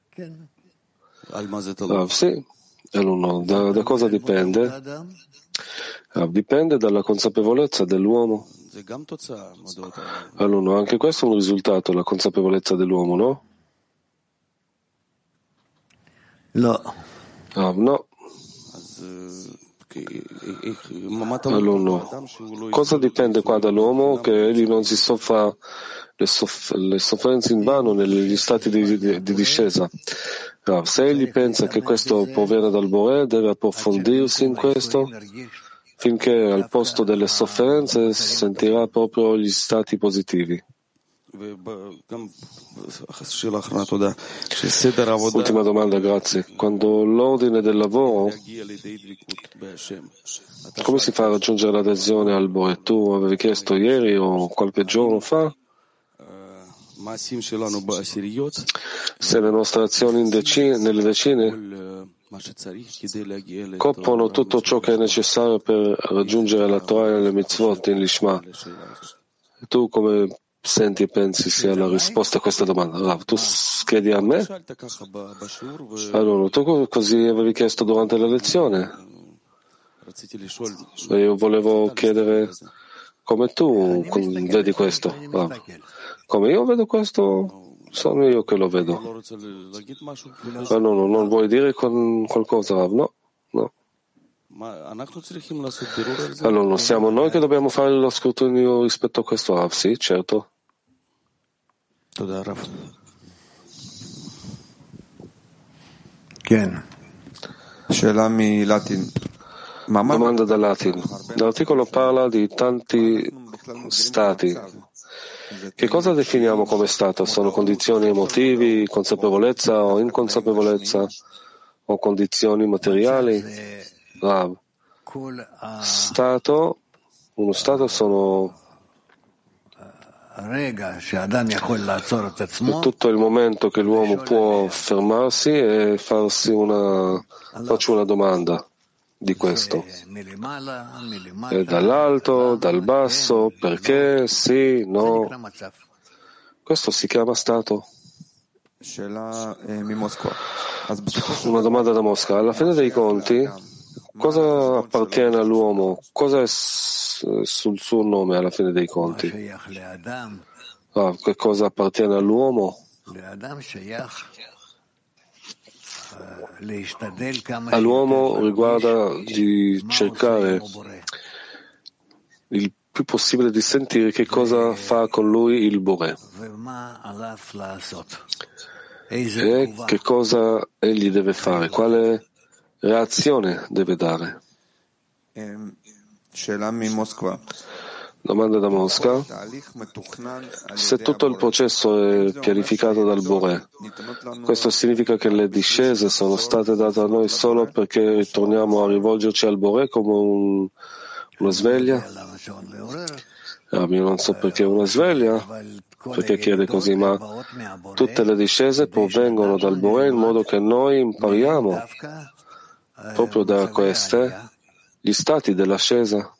Speaker 3: Sì. Allora, da cosa dipende? Dipende dalla consapevolezza dell'uomo. Allora, anche questo è un risultato, la consapevolezza dell'uomo, no? No. Allora, cosa dipende qua dall'uomo? Che egli non si soffra le sofferenze in vano negli stati di discesa. Se egli pensa che questo proviene dal Boré, deve approfondirsi in questo finché al posto delle sofferenze si sentirà proprio gli stati positivi. Ultima domanda, grazie. Quando l'ordine del lavoro, come si fa a raggiungere l'adesione al Boré? Tu avevi chiesto ieri o qualche giorno fa? Se le nostre azioni nelle decine coprono tutto ciò che è necessario per raggiungere la Torah e le mitzvot in Lishma. Tu come senti e pensi sia la risposta a questa domanda? Tu chiedi a me? Allora, tu così avevi chiesto durante la lezione. Io volevo chiedere come tu vedi questo. Come io vedo questo, sono io che lo vedo. Non vuoi dire qualcosa, Rav? No. Allora, non siamo noi che dobbiamo fare lo scrutinio rispetto a questo, Rav? Sì, certo. Domanda da Latin. L'articolo parla di tanti stati. Che cosa definiamo come stato? Sono condizioni emotivi, consapevolezza o inconsapevolezza o condizioni materiali? Rav. Uno stato sono tutto il momento che l'uomo può fermarsi e faccio una domanda di questo. E dall'alto, dal basso, perché, sì, no. Questo si chiama stato. Una domanda da Mosca. Alla fine dei conti, cosa appartiene all'uomo? Cosa è sul suo nome alla fine dei conti? Che cosa appartiene all'uomo? All'uomo riguarda di cercare il più possibile di sentire che cosa fa con lui il Boré e che cosa egli deve fare, quale reazione deve dare. Domanda da Mosca. Se tutto il processo è pianificato dal Boré, questo significa che le discese sono state date a noi solo perché ritorniamo a rivolgerci al Boré come una sveglia? Io non so perché una sveglia, perché chiede così, ma tutte le discese provengono dal Boré in modo che noi impariamo proprio da queste gli stati dell'ascesa.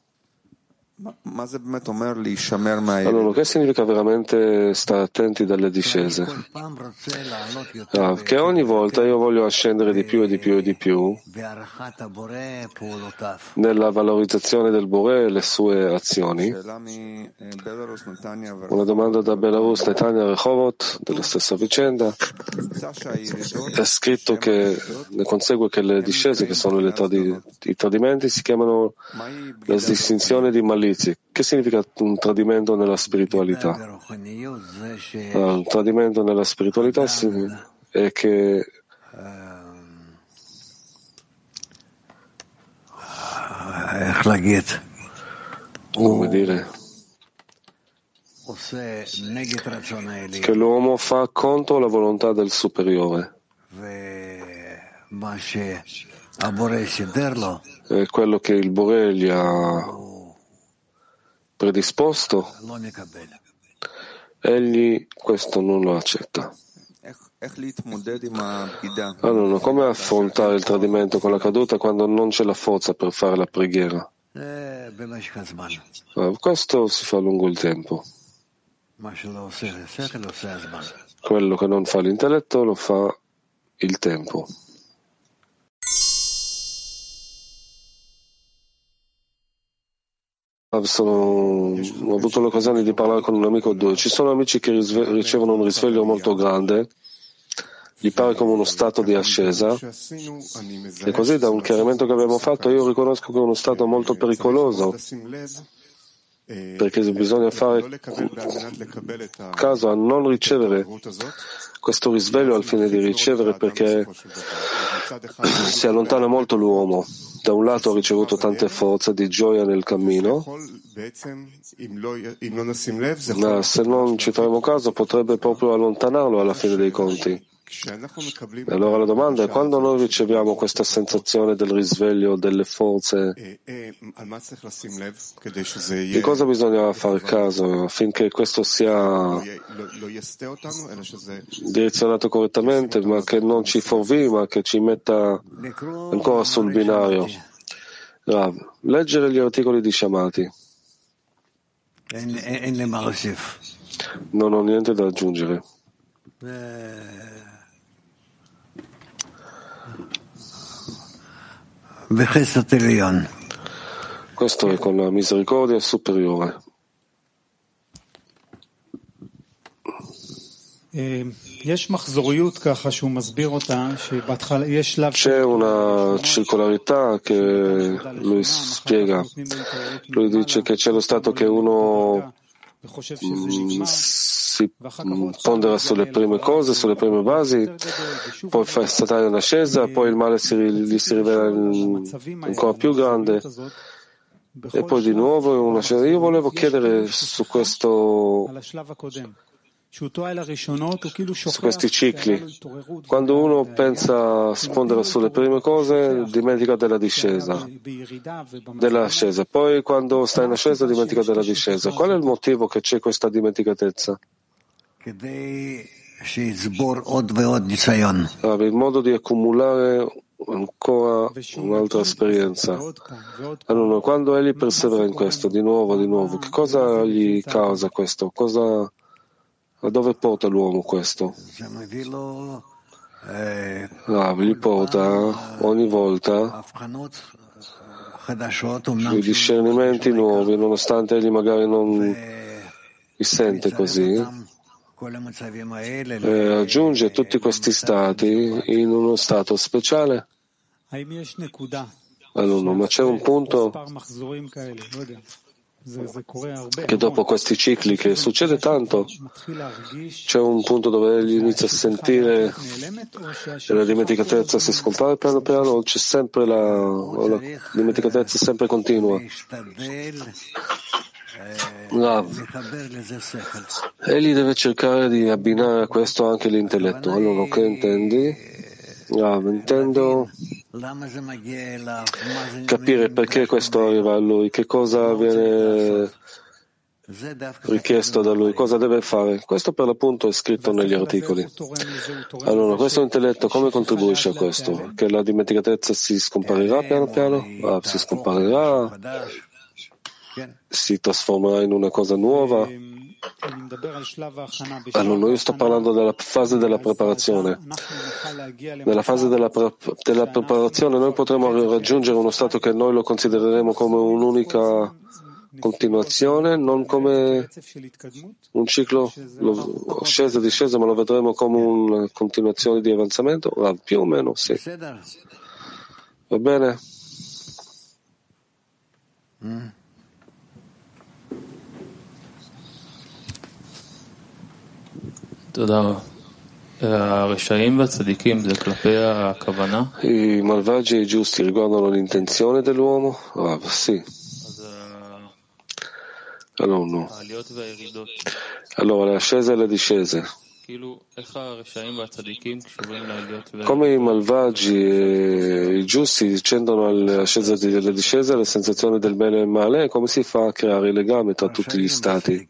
Speaker 3: Allora, che significa veramente stare attenti dalle discese? Che ogni volta io voglio ascendere di più e di più e di più nella valorizzazione del Boré e le sue azioni. Una domanda da Belarus, Netanya Rehovot, della stessa vicenda. È scritto che ne consegue che le discese, che sono i tradimenti, si chiamano la distinzione di malizia. Che significa un tradimento nella spiritualità? Un tradimento nella spiritualità è che come dire, che l'uomo fa contro la volontà del superiore e quello che il Boré gli ha predisposto, egli questo non lo accetta. Allora, come affrontare il tradimento con la caduta quando non c'è la forza per fare la preghiera? Questo si fa lungo il tempo. Quello che non fa l'intelletto lo fa il tempo. Ho avuto l'occasione di parlare con un amico o due. Ci sono amici che ricevono un risveglio molto grande, gli pare come uno stato di ascesa, e così da un chiarimento che abbiamo fatto io riconosco che è uno stato molto pericoloso, perché bisogna fare caso a non ricevere questo risveglio al fine di ricevere, perché si allontana molto l'uomo. Da un lato ha ricevuto tante forze di gioia nel cammino, ma se non ci faremo caso potrebbe proprio allontanarlo alla fine dei conti. E allora la domanda è: quando noi riceviamo questa sensazione del risveglio delle forze, di cosa bisogna fare caso affinché questo sia direzionato correttamente, ma che non ci fuorvi, ma che ci metta ancora sul binario? Leggere gli articoli di Shamati. Non ho niente da aggiungere. Questo è con la misericordia superiore. C'è una circolarità che lui spiega. Lui dice che c'è lo stato che uno si pondera sulle prime cose, sulle prime basi, poi fa statare un'ascesa, poi il male gli si rivela ancora più grande e poi di nuovo un'ascesa. Io volevo chiedere su questi cicli. Quando uno pensa a spondere sulle prime cose, dimentica dell'ascesa. Poi quando sta in ascesa, dimentica della discesa. Qual è il motivo che c'è questa dimenticatezza? Il modo di accumulare ancora un'altra esperienza. Allora, quando egli persevera in questo, di nuovo, che cosa gli causa questo? A dove porta l'uomo questo? Gli porta ogni volta i discernimenti nuovi, nonostante egli magari non li sente così, aggiunge tutti questi stati in uno stato speciale. Allora, ma c'è un punto che dopo questi cicli che succede tanto, c'è un punto dove egli inizia a sentire che la dimenticatezza si scompare piano piano, o c'è sempre o la dimenticatezza sempre continua. Egli deve cercare di abbinare a questo anche l'intelletto. Allora, che intendi? Intendo capire perché questo arriva a lui, che cosa viene richiesto da lui, cosa deve fare. Questo per l'appunto è scritto negli articoli. Allora, questo intelletto come contribuisce a questo? Che la dimenticatezza si scomparirà piano piano? Si scomparirà? Si trasformerà in una cosa nuova? Allora, io sto parlando della fase della preparazione. Nella fase della preparazione noi potremo raggiungere uno stato che noi lo considereremo come un'unica continuazione, non come un ciclo ascesa e discesa, ma lo vedremo come una continuazione di avanzamento? Più o meno, sì. Va bene? I malvagi e i giusti riguardano l'intenzione dell'uomo? Sì. Allora, no. Allora, le ascese e le discese. Come i malvagi e i giusti scendono alle ascese e alle discese, alle sensazioni del bene e del male, come si fa a creare il legame tra tutti gli stati?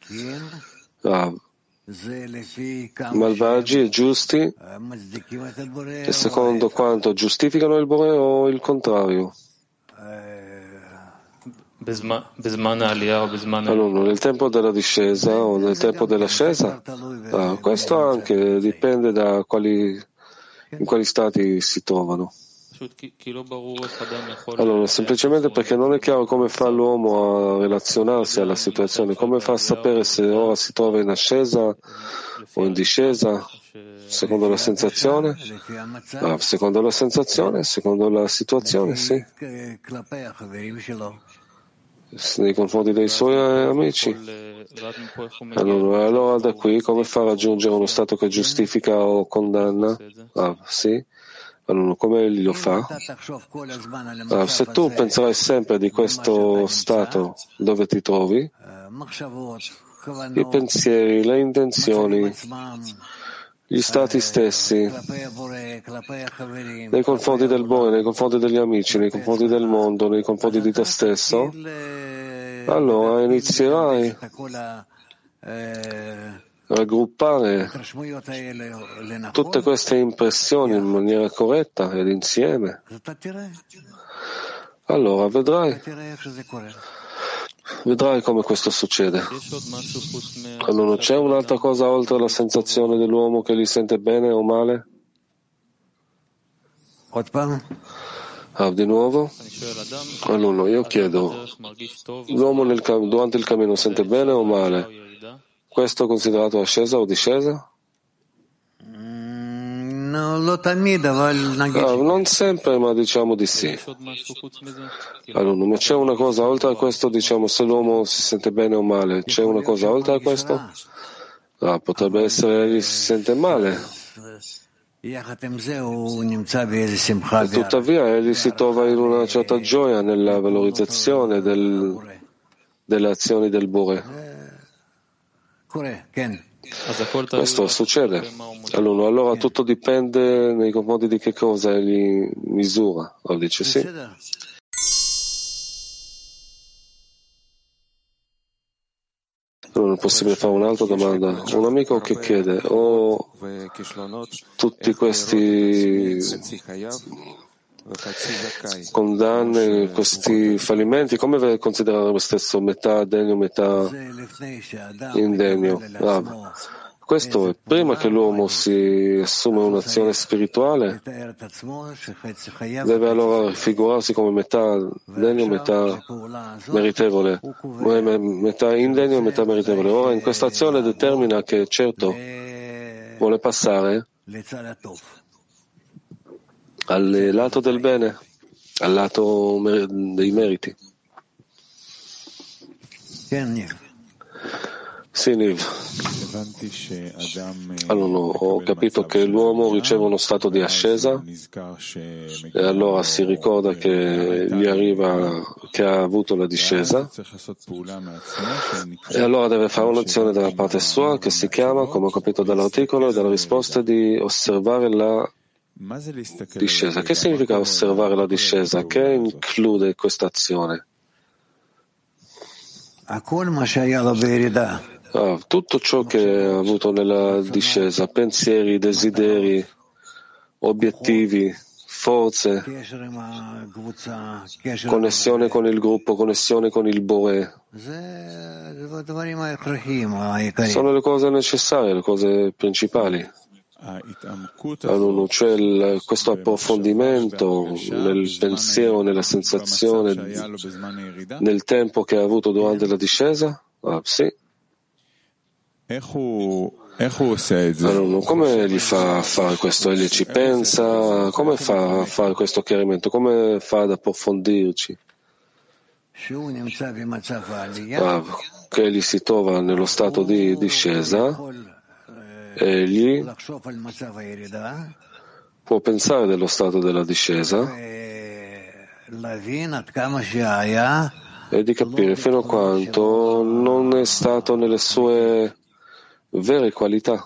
Speaker 3: Malvagi e giusti, e secondo quanto giustificano il Bore o il contrario? Allora, nel tempo della discesa o nel tempo dell'ascesa? Questo anche dipende da in quali stati si trovano. Allora, semplicemente perché non è chiaro come fa l'uomo a relazionarsi alla situazione, come fa a sapere se ora si trova in ascesa o in discesa, secondo la sensazione? Secondo la sensazione, secondo la situazione, sì. Nei confronti dei suoi amici. Allora da qui come fa a raggiungere uno stato che giustifica o condanna? Sì. Allora, come egli lo fa? Se tu penserai sempre di questo stato dove ti trovi, i pensieri, le intenzioni, gli stati stessi, nei confronti del Bore, nei confronti degli amici, nei confronti del mondo, nei confronti di te stesso, allora inizierai a raggruppare tutte queste impressioni in maniera corretta ed insieme. Allora vedrai come questo succede. Allora, non c'è un'altra cosa oltre la sensazione dell'uomo che li sente bene o male? Di nuovo? Allora, io chiedo, l'uomo durante il cammino sente bene o male? Questo è considerato ascesa o discesa? Non sempre, ma diciamo di sì. Allora, ma c'è una cosa oltre a questo, diciamo, se l'uomo si sente bene o male, c'è una cosa oltre a questo? Potrebbe essere che si sente male. E tuttavia egli si trova in una certa gioia nella valorizzazione delle azioni del Bore. Questo succede. Allora tutto dipende nei confronti di che cosa egli misura. Dice sì. Non è possibile fare un'altra domanda. Un amico che chiede, tutti questi condanne, questi fallimenti, come considerare me stesso metà degno, metà indegno? Questo è prima che l'uomo si assume un'azione spirituale, deve allora raffigurarsi come metà degno, metà meritevole, metà indegno e metà meritevole. Ora in questa azione determina che certo vuole passare al lato del bene, al lato dei meriti. Sì, Niv. Allora, ho capito che l'uomo riceve uno stato di ascesa e allora si ricorda che gli arriva che ha avuto la discesa e allora deve fare un'azione dalla parte sua che si chiama, come ho capito dall'articolo e dalla risposta, di osservare la discesa. Che significa osservare la discesa? Che include questa azione? Tutto ciò che ha avuto nella discesa, pensieri, desideri, obiettivi, forze, connessione con il gruppo, connessione con il Bore, sono le cose necessarie, le cose principali. Allora, cioè questo approfondimento nel pensiero, nella sensazione, nel tempo che ha avuto durante la discesa? Sì. Allora, come gli fa a fare questo? Egli ci pensa? Come fa a fare questo chiarimento? Come fa ad approfondirci? Che egli si trova nello stato di discesa egli può pensare dello stato della discesa e di capire fino a quanto non è stato nelle sue vere qualità.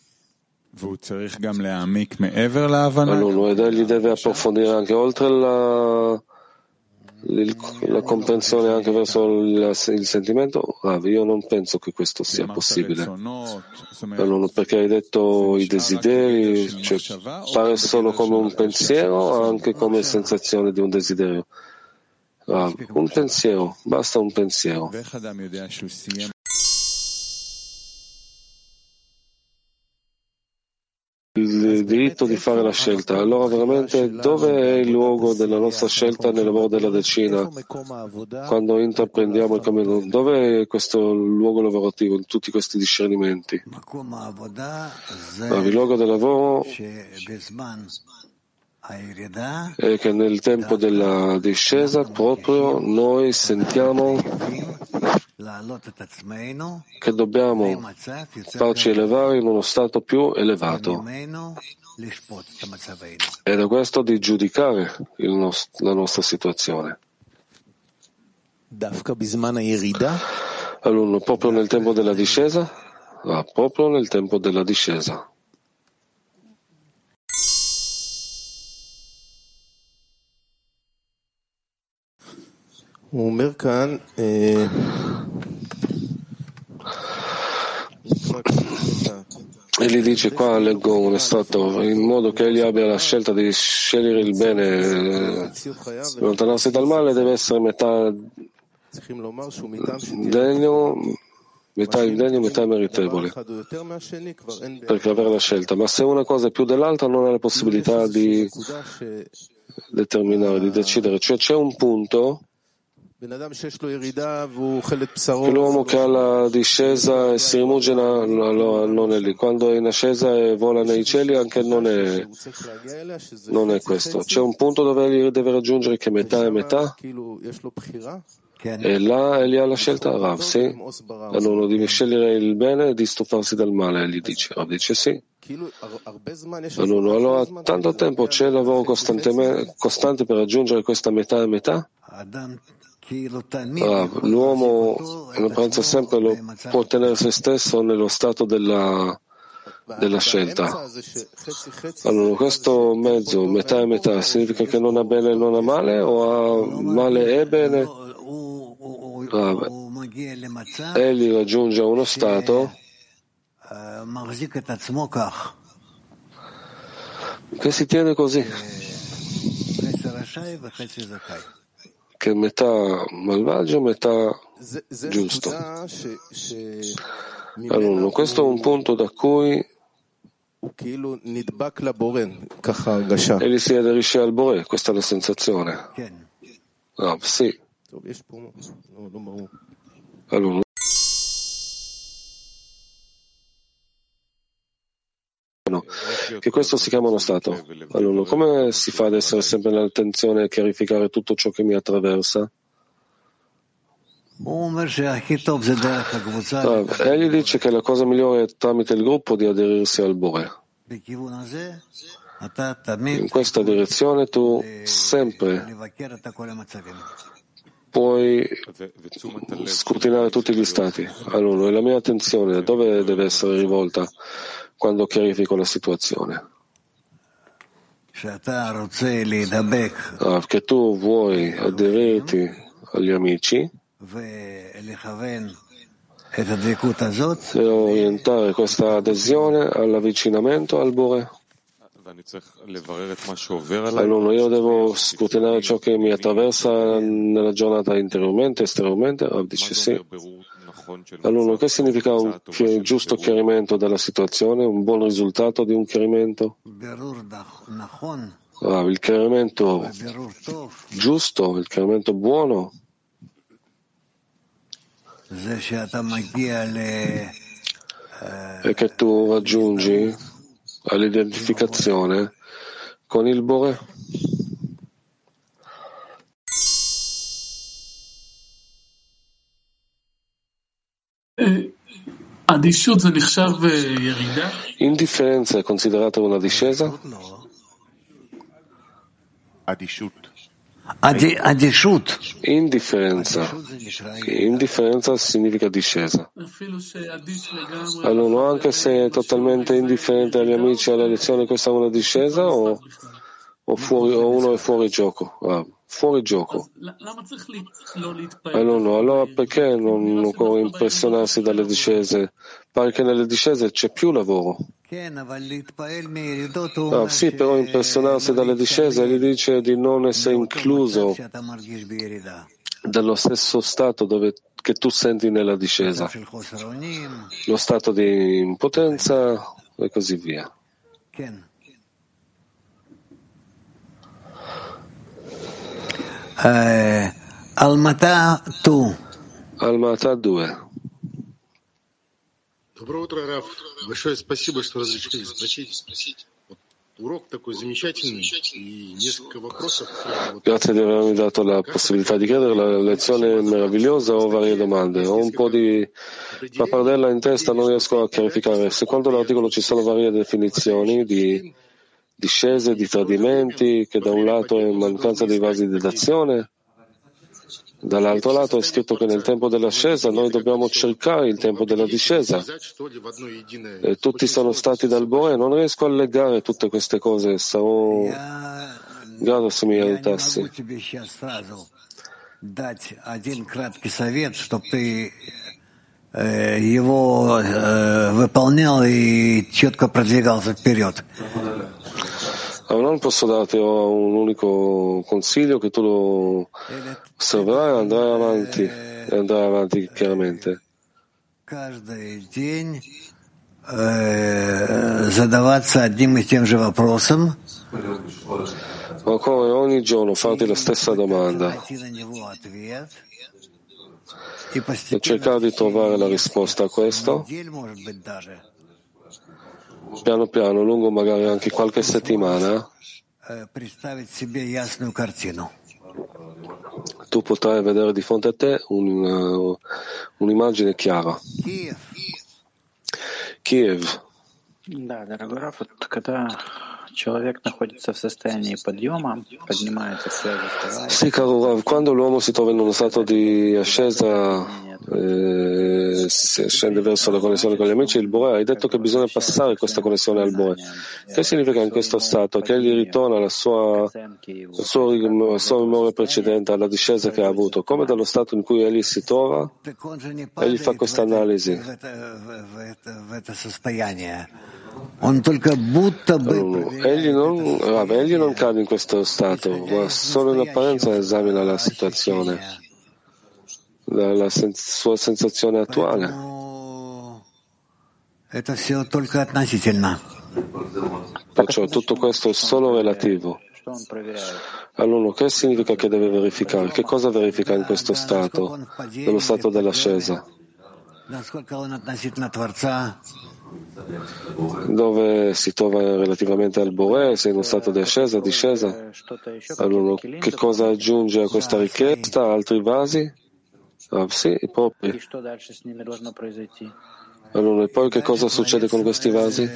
Speaker 3: Allora, ed egli deve approfondire anche oltre la comprensione anche verso il sentimento. Io non penso che questo sia possibile. Allora, perché hai detto i desideri, cioè, pare solo come un pensiero o anche come sensazione di un desiderio? Un pensiero, basta un pensiero. Il diritto di fare la scelta. Allora veramente dove è il luogo della nostra scelta nel lavoro della decina? Quando intraprendiamo il cammino, dove è questo luogo lavorativo in tutti questi discernimenti? Il luogo del lavoro è che nel tempo della discesa proprio noi sentiamo che dobbiamo farci elevare in uno stato più elevato e da questo di giudicare la nostra situazione. Allora, proprio nel tempo della discesa? Proprio nel tempo della discesa. Egli dice qua, leggo un estratto, in modo che egli abbia la scelta di scegliere il bene, allontanarsi dal male, deve essere metà degno, metà meritevole, perché avere la scelta. Ma se una cosa è più dell'altra non ha la possibilità di determinare, di decidere. Cioè c'è un punto che l'uomo che ha la discesa e si rimugina non è lì. Quando è in ascesa e vola nei cieli anche non è questo. C'è un punto dove egli deve raggiungere che metà è metà e là egli ha la scelta. Rav, sì. Allora deve scegliere il bene e di stufarsi dal male, egli dice. Rav dice sì. Allora tanto tempo c'è lavoro costante per raggiungere questa metà e metà. L'uomo pensa sempre può tenere se stesso nello stato della scelta. Allora, questo mezzo, metà e metà, significa che non ha bene e non ha male o ha male e bene? Egli raggiunge uno stato che si tiene così, che metà malvagio, metà giusto. Allora, questo è un punto da cui egli si aderisce al Boré, questa è la sensazione. Sì. Allora, che questo si chiama uno stato. Allora, come si fa ad essere sempre nell'attenzione e chiarificare tutto ciò che mi attraversa? Egli dice che la cosa migliore è tramite il gruppo di aderirsi al Boré. In questa direzione tu sempre puoi scrutinare tutti gli stati. Allora, la mia attenzione dove deve essere rivolta quando chiarifico la situazione? Che tu vuoi aderirti agli amici e orientare questa adesione all'avvicinamento al Boré. Allora io devo scrutinare ciò che mi attraversa nella giornata interiormente, esteriormente. Dice sì. Allora, che significa un giusto chiarimento della situazione, un buon risultato di un chiarimento? Il chiarimento giusto, il chiarimento buono è che tu raggiungi all'identificazione con il Boré. Indifferenza è considerata una discesa? Indifferenza significa discesa. Allora, anche se è totalmente indifferente agli amici e alle lezioni, questa è una discesa o uno è fuori gioco? Fuori gioco. Allora perché non occorre impressionarsi dalle discese? Pare che nelle discese c'è più lavoro. Sì, però impressionarsi dalle discese gli dice di non essere incluso dallo stesso stato che tu senti nella discesa, lo stato di impotenza e così via.
Speaker 4: Almata
Speaker 3: 2.
Speaker 5: Доброе утро, Раф. Большое спасибо, что разрешили спросить. Урок такой замечательный и несколько вопросов.
Speaker 3: Grazie di avermi dato la possibilità di chiedere, la lezione è meravigliosa. Ho varie domande. Ho un po' di pappardella in testa, non riesco a chiarificare. Secondo l'articolo ci sono varie definizioni di discese, di tradimenti, che da un lato è mancanza di vasi di dazione, dall'altro lato è scritto che nel tempo dell'ascesa noi dobbiamo cercare il tempo della discesa. E tutti sono stati dal Bore, non riesco a legare tutte queste cose, sarò grato se mi aiutassi.
Speaker 4: Его выполнял и четко продвигался вперед.
Speaker 3: Non posso darti un unico consiglio che tu lo osserverai e andrai avanti chiaramente.
Speaker 4: Задаваться одним и тем же вопросом.
Speaker 3: Occorre ogni giorno farti la stessa domanda e cercare di trovare la risposta a questo piano piano, lungo magari anche qualche settimana. Tu potrai vedere di fronte a te un'immagine chiara. Kiev.
Speaker 6: Да, дорогой Раф, когда человек находится в состоянии подъема, поднимается связь, вставает.
Speaker 3: Sì, caro Rav, quando l'uomo si trova in uno stato di ascesa, scende verso la connessione con gli amici, il Bore, hai detto che bisogna passare questa connessione al Bore. Che significa in questo stato? Che egli ritorna al suo memoria precedente, alla discesa che ha avuto, come dallo stato in cui egli si trova, egli fa questa analisi. Egli non cade in questo stato, ma solo in apparenza esamina la situazione, la sua sensazione attuale. Perciò tutto questo è solo relativo. Allora, che significa che deve verificare? Che cosa verifica in questo stato, nello stato dell'ascesa? Dove si trova relativamente al Bore, se è in uno stato di ascesa, discesa. Allora, che cosa aggiunge a questa richiesta? Altri vasi? Sì, propri. Allora, e poi che cosa succede con questi vasi?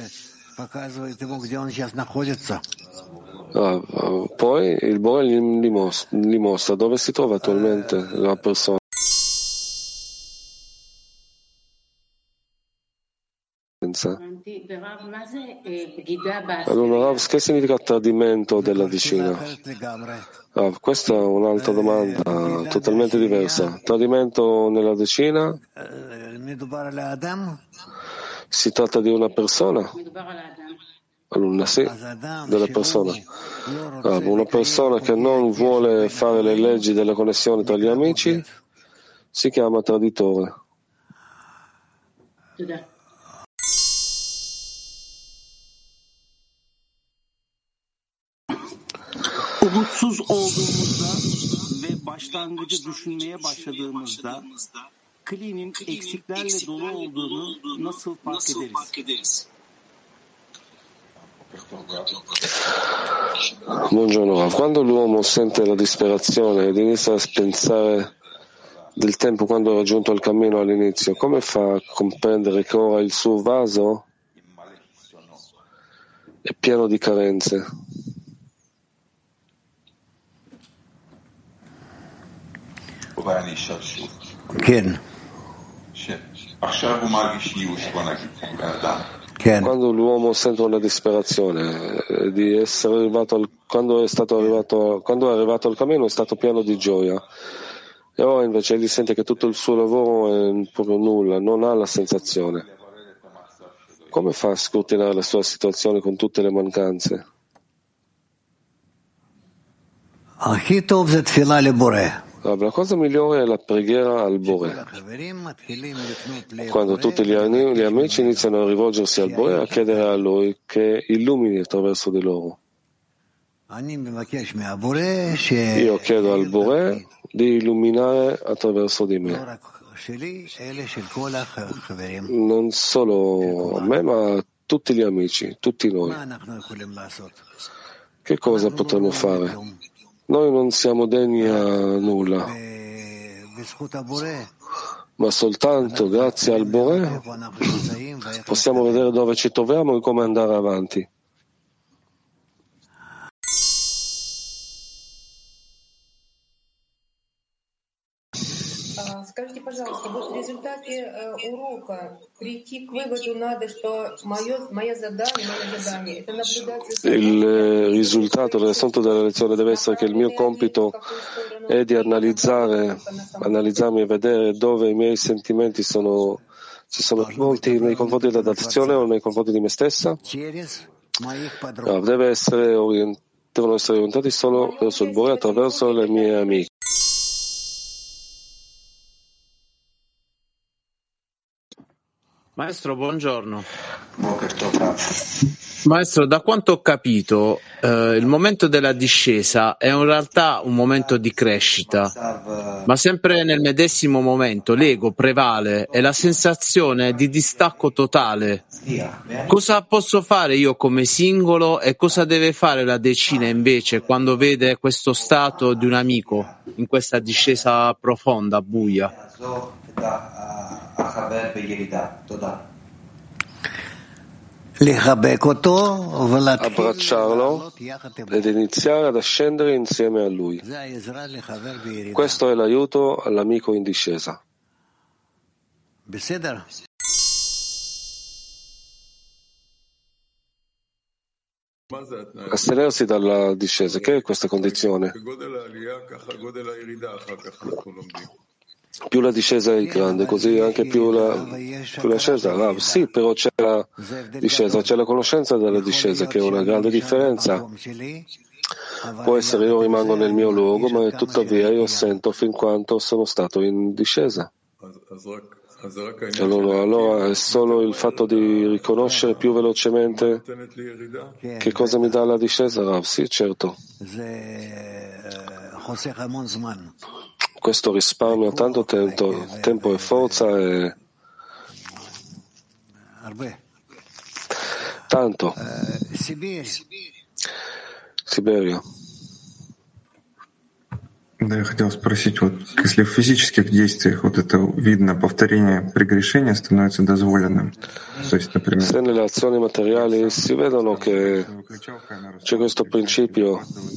Speaker 3: Poi il Bore gli mostra dove si trova attualmente la persona. Allora, Rav, che significa tradimento della vicina? Questa è un'altra domanda totalmente diversa. Tradimento nella decina? Si tratta di una persona? Allora, sì, della persona. Una persona che non vuole fare le leggi della connessione tra gli amici si chiama traditore.
Speaker 7: Umutsuz olduğumuzda ve başlangıcı düşünmeye başladığımızda klinin eksiklerle dolu olduğunu nasıl fark ederiz?
Speaker 3: Buongiorno Rav, quando l'uomo sente la disperazione ed inizia a pensare del tempo quando ha raggiunto il cammino all'inizio, come fa a comprendere che ora il suo vaso è pieno di carenze? Quando l'uomo sente una disperazione di essere arrivato quando è arrivato al cammino è stato pieno di gioia, e ora invece egli sente che tutto il suo lavoro è proprio nulla, non ha la sensazione. Come fa a scrutinare la sua situazione con tutte le mancanze? La cosa migliore è la preghiera al Bore. Quando tutti gli amici iniziano a rivolgersi al Bore, a chiedere a Lui che illumini attraverso di loro. Io chiedo al Bore di illuminare attraverso di me, non solo a me, ma a tutti gli amici, tutti noi. Che cosa potremmo fare? Noi non siamo degni a nulla, ma soltanto grazie al Bore possiamo vedere dove ci troviamo e come andare avanti.
Speaker 8: Скажите, пожалуйста, вот в результате урока прийти к выводу надо, что моя задание это наблюдать за собой.
Speaker 3: Il risultato dell'assunto della lezione deve essere che il mio compito è di analizzarmi e vedere dove i miei sentimenti si sono rivolti nei confronti dell'azione o nei confronti di me stessa. No, devono essere orientati solo verso il Bore attraverso le mie amiche.
Speaker 9: Maestro, buongiorno. Maestro, da quanto ho capito, il momento della discesa è in realtà un momento di crescita, ma sempre nel medesimo momento l'ego prevale e la sensazione è di distacco totale. Cosa posso fare io come singolo e cosa deve fare la decina invece quando vede questo stato di un amico in questa discesa profonda, buia?
Speaker 3: Abbracciarlo ed iniziare ad ascendere insieme a lui. Questo è l'aiuto all'amico in discesa. Astenersi dalla discesa, che è questa condizione? Più la discesa è grande, così anche più l'ascesa. Sì, però c'è la discesa, c'è la conoscenza della discesa, che è una grande differenza. Può essere io rimango nel mio luogo, ma tuttavia io sento fin quanto sono stato in discesa. Allora è solo il fatto di riconoscere più velocemente che cosa mi dà la discesa, Rav? Sì, certo. Questo risparmia tanto tempo e forza e tanto. Siberia.
Speaker 10: Да, я хотел спросить, вот если в физических действиях вот это видно, повторение прегрешения становится дозволенным. То есть, например,
Speaker 3: se nelle azioni materiali si vedono che c'è questo principio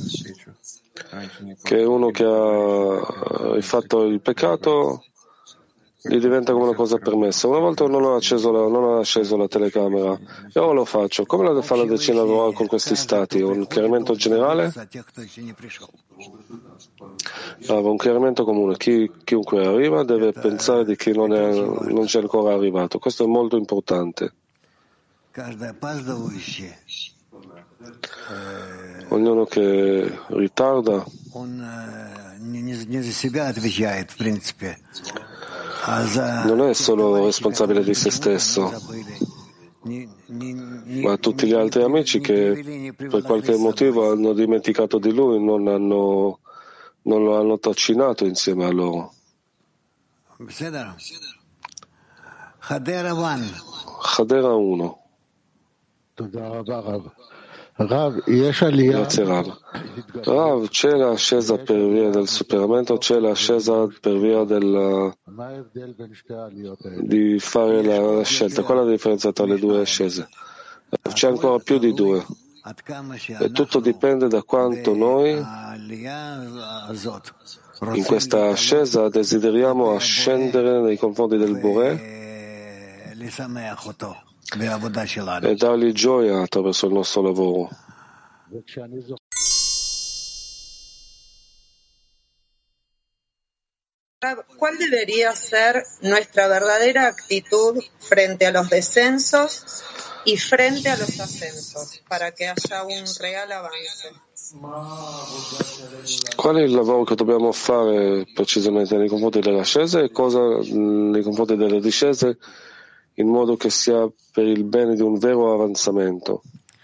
Speaker 3: che uno che ha fatto il peccato gli diventa come una cosa permessa. Una volta non ho acceso la telecamera e ora lo faccio. Come la fa la decina con questi stati? Un chiarimento generale? Un chiarimento comune. Chiunque arriva deve pensare di chi non c'è ancora arrivato. Questo è molto importante. Ognuno che ritarda non è solo responsabile di se stesso, ma tutti gli altri amici che per qualche motivo hanno dimenticato di lui, non lo hanno trascinato insieme a loro. Hadera 1. Grazie Rav. Rav, c'è l'ascesa per via del superamento, c'è l'ascesa per via di fare la scelta. Qual è la differenza tra le due ascese? C'è ancora più di due. E tutto dipende da quanto noi in questa ascesa desideriamo ascendere nei confronti del Boré e dargli gioia attraverso il nostro lavoro.
Speaker 11: ¿Cuál debería ser nuestra verdadera actitud frente a los descensos y frente a los ascensos para que haya un real avance?
Speaker 3: Qual è il lavoro che dobbiamo fare precisamente nei confronti delle ascese e cosa nei confronti delle discese, in modo che sia per il bene di un vero avanzamento?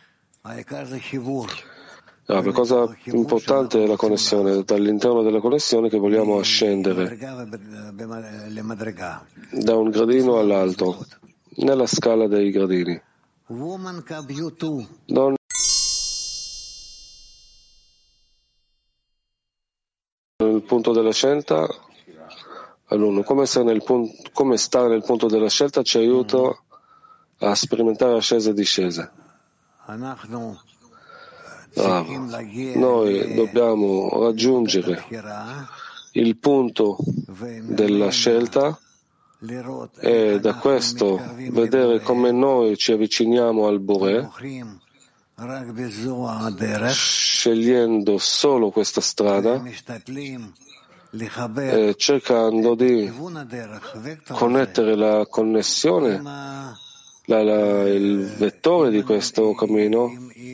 Speaker 3: La cosa importante è la connessione, dall'interno della connessione che vogliamo ascendere da un gradino all'altro, nella scala dei gradini. Nel punto della scelta, all'uno, come stare nel punto della scelta ci aiuta a sperimentare ascese e discese. Noi dobbiamo raggiungere il punto della scelta e da questo vedere come noi ci avviciniamo al Boré, scegliendo solo questa strada e cercando di connettere la connessione, il vettore di questo cammino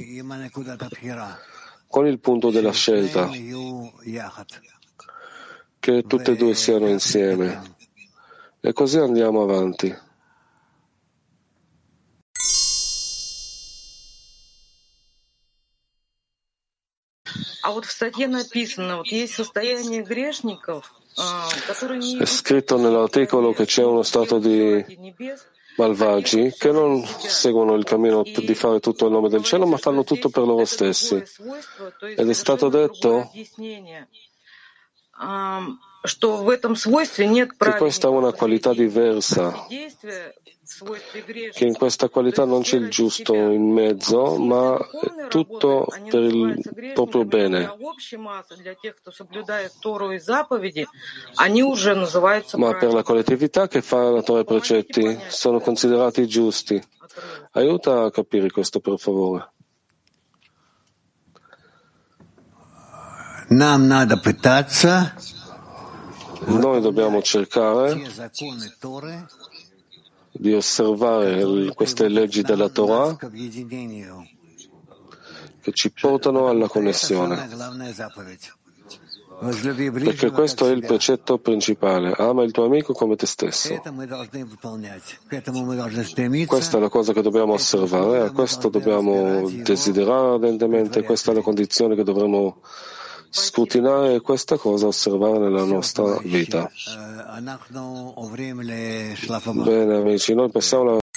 Speaker 3: con il punto della scelta, che tutte e due siano insieme, e così andiamo avanti. È scritto nell'articolo che c'è uno stato di malvagi che non seguono il cammino di fare tutto a nome del cielo, ma fanno tutto per loro stessi. Ed è stato detto che questa è una qualità diversa, che in questa qualità non c'è il giusto in mezzo, ma è tutto per il proprio bene. Ma per la collettività che fa la Torah e i precetti sono considerati giusti. Aiuta a capire questo, per favore. Noi dobbiamo cercare di osservare queste leggi della Torah che ci portano alla connessione, perché questo è il precetto principale: ama il tuo amico come te stesso. Questa è la cosa che dobbiamo osservare, a questo dobbiamo desiderare ardentemente, questa è la condizione che dovremo scrutinare e questa cosa osservare nella nostra vita. Bene amici, noi passiamo alla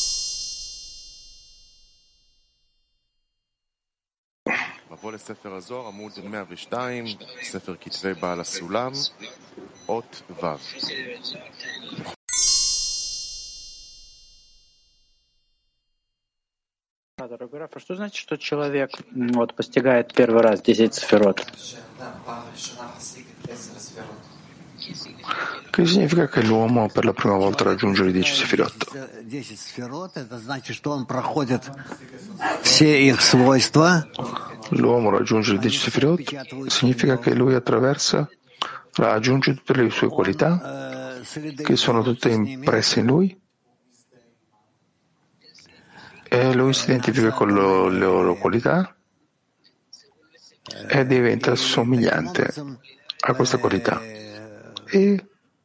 Speaker 2: לספר הזוהר, עמוד 102, ספר כתבי בעל הסולם, אות ו'.
Speaker 6: Дорогой Раф, что значит, что человек постигает первый раз 10 сферот?
Speaker 12: Che significa che l'uomo per la prima volta raggiunge le 10 sefirot? L'uomo raggiunge le 10 sefirot significa che lui raggiunge tutte le sue qualità, che sono tutte impresse in lui, e lui si identifica con le loro qualità e diventa somigliante a questa qualità e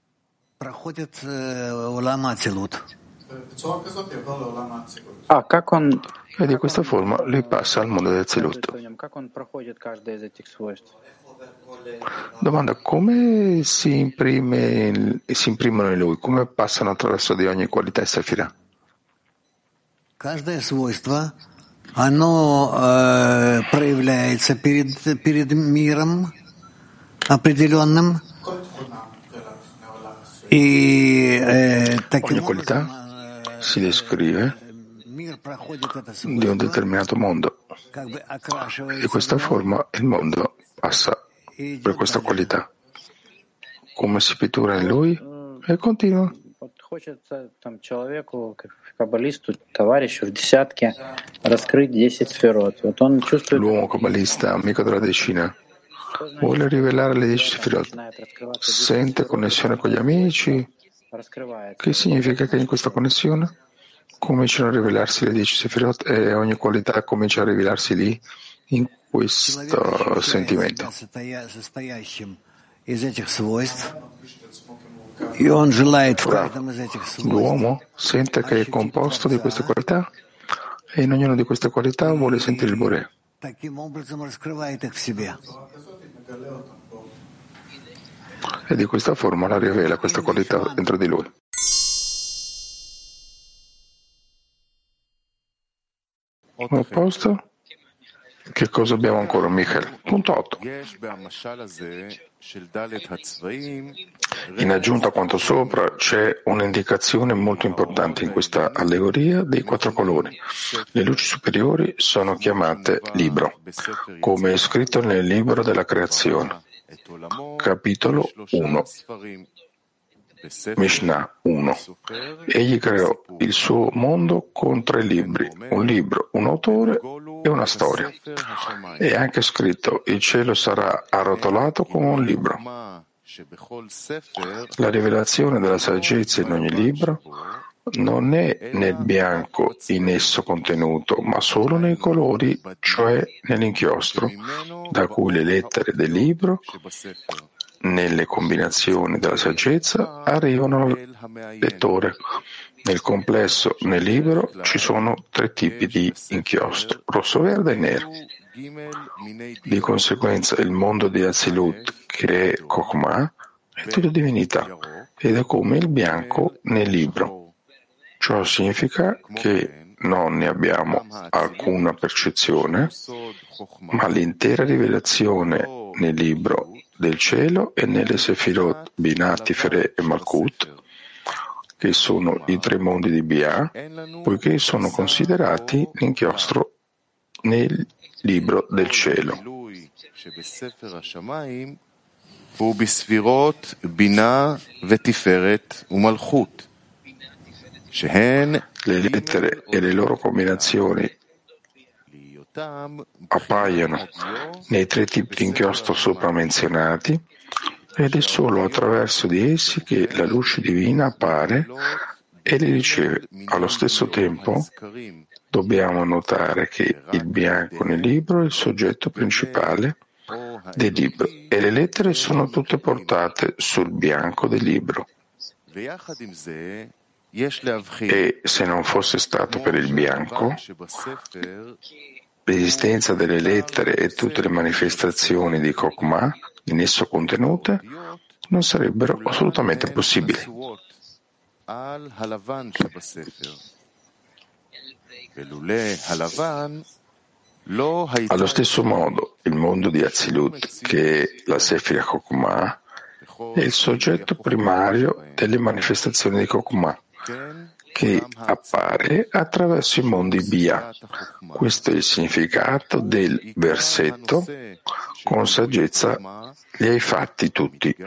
Speaker 12: e di questa forma lui passa al mondo del Zilut. Domanda: come si imprimono in lui? Come passano attraverso di ogni qualità e sefirah?
Speaker 4: оно проявляется перед миром определенным.
Speaker 12: Ogni qualità si descrive di un determinato mondo. Di questa forma il mondo passa per questa qualità. Come si pittura in lui e continua.
Speaker 6: Хочется там человеку, как каббалисту, товарищу в десятке, раскрыть 10 сферот. Вот он чувствует...
Speaker 12: L'uomo kabbalista, amico della decina, vuole rivelare le 10 sefirot. Sente connessione con gli amici. Che significa che in questa connessione cominciano a rivelarsi le 10 sefirot e ogni qualità comincia a rivelarsi lì, in questo sentimento. Ora, l'uomo sente che è composto di queste qualità e in ognuna di queste qualità vuole sentire il Boré. E di questa forma la rivela questa qualità dentro di lui. A posto? Che cosa abbiamo ancora, Michael? Punto 8. In aggiunta a quanto sopra, c'è un'indicazione molto importante in questa allegoria dei 4 colori. Le luci superiori sono chiamate libro, come è scritto nel libro della creazione, capitolo 1. Mishnah 1. Egli creò il suo mondo con 3 libri, un libro, un autore e una storia. È anche scritto: il cielo sarà arrotolato come un libro. La rivelazione della saggezza in ogni libro non è nel bianco in esso contenuto, ma solo nei colori, cioè nell'inchiostro, da cui le lettere del libro nelle combinazioni della saggezza arrivano al lettore. Nel complesso, nel libro, ci sono 3 tipi di inchiostro, rosso, verde e nero. Di conseguenza, il mondo di Azilut, che è Chokhmah, è tutto divinità, ed è come il bianco nel libro. Ciò significa che non ne abbiamo alcuna percezione, ma l'intera rivelazione nel libro del cielo e nelle Sefirot Binah, Tiferet e Malkut, che sono i 3 mondi di Bia, poiché sono considerati l'inchiostro nel libro del cielo. Le lettere e le loro combinazioni appaiono nei 3 tipi di inchiostro sopra menzionati, ed è solo attraverso di essi che la luce divina appare e li riceve. Allo stesso tempo, dobbiamo notare che il bianco nel libro è il soggetto principale del libro e le lettere sono tutte portate sul bianco del libro. E se non fosse stato per il bianco, l'esistenza delle lettere e tutte le manifestazioni di Chokhmah in esso contenute non sarebbero assolutamente possibili. Allo stesso modo, il mondo di Azilut, che è la Sefira Chokhmah, è il soggetto primario delle manifestazioni di Chokhmah, che appare attraverso i mondi Bia. Questo è il significato del versetto: con saggezza li hai fatti tutti.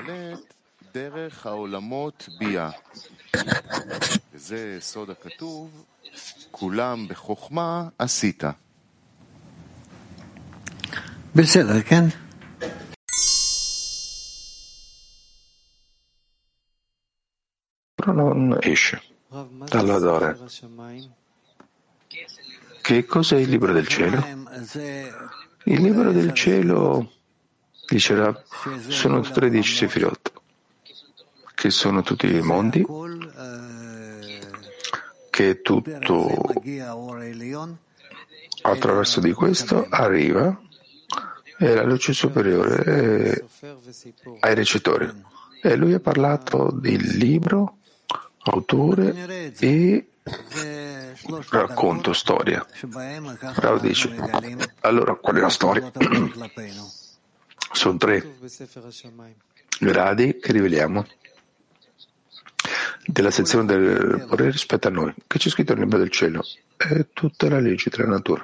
Speaker 4: בסדר, כן?
Speaker 12: Però non esce dalla Dora. Che cos'è il libro del cielo? Il libro del cielo, dice Rav, sono 13 Sefirot, che sono tutti i mondi, che tutto attraverso di questo arriva e la luce superiore ai recitatori. E lui ha parlato del libro, autore e racconto, storia. Rav dice, allora qual è la storia? Sono 3 gradi che riveliamo della sezione del Bore rispetto a noi, che c'è scritto nel libro del cielo, è tutta la legge della natura,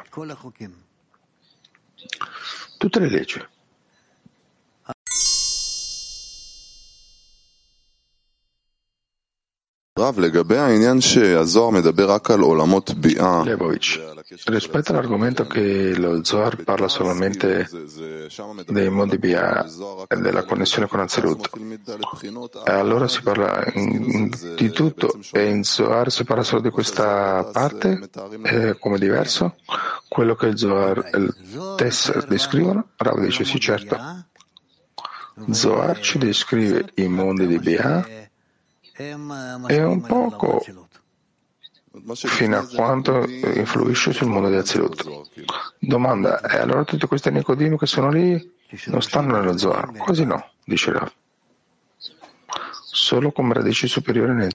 Speaker 12: tutte le leggi. Lebovic, rispetto all'argomento che lo Zohar parla solamente dei mondi Bia e della connessione con Azilut, allora si parla di tutto e in Zohar si parla solo di questa parte come diverso? Quello che il Zohar e il Tesser descrivono? Rav dice sì, certo. Zohar ci descrive i mondi di Bia e un poco fino a quanto influisce sul mondo di Azilut. Domanda, e allora tutti questi Nicodim che sono lì non stanno nello Zohar? Quasi no, dice Rav. Solo come radici superiori nel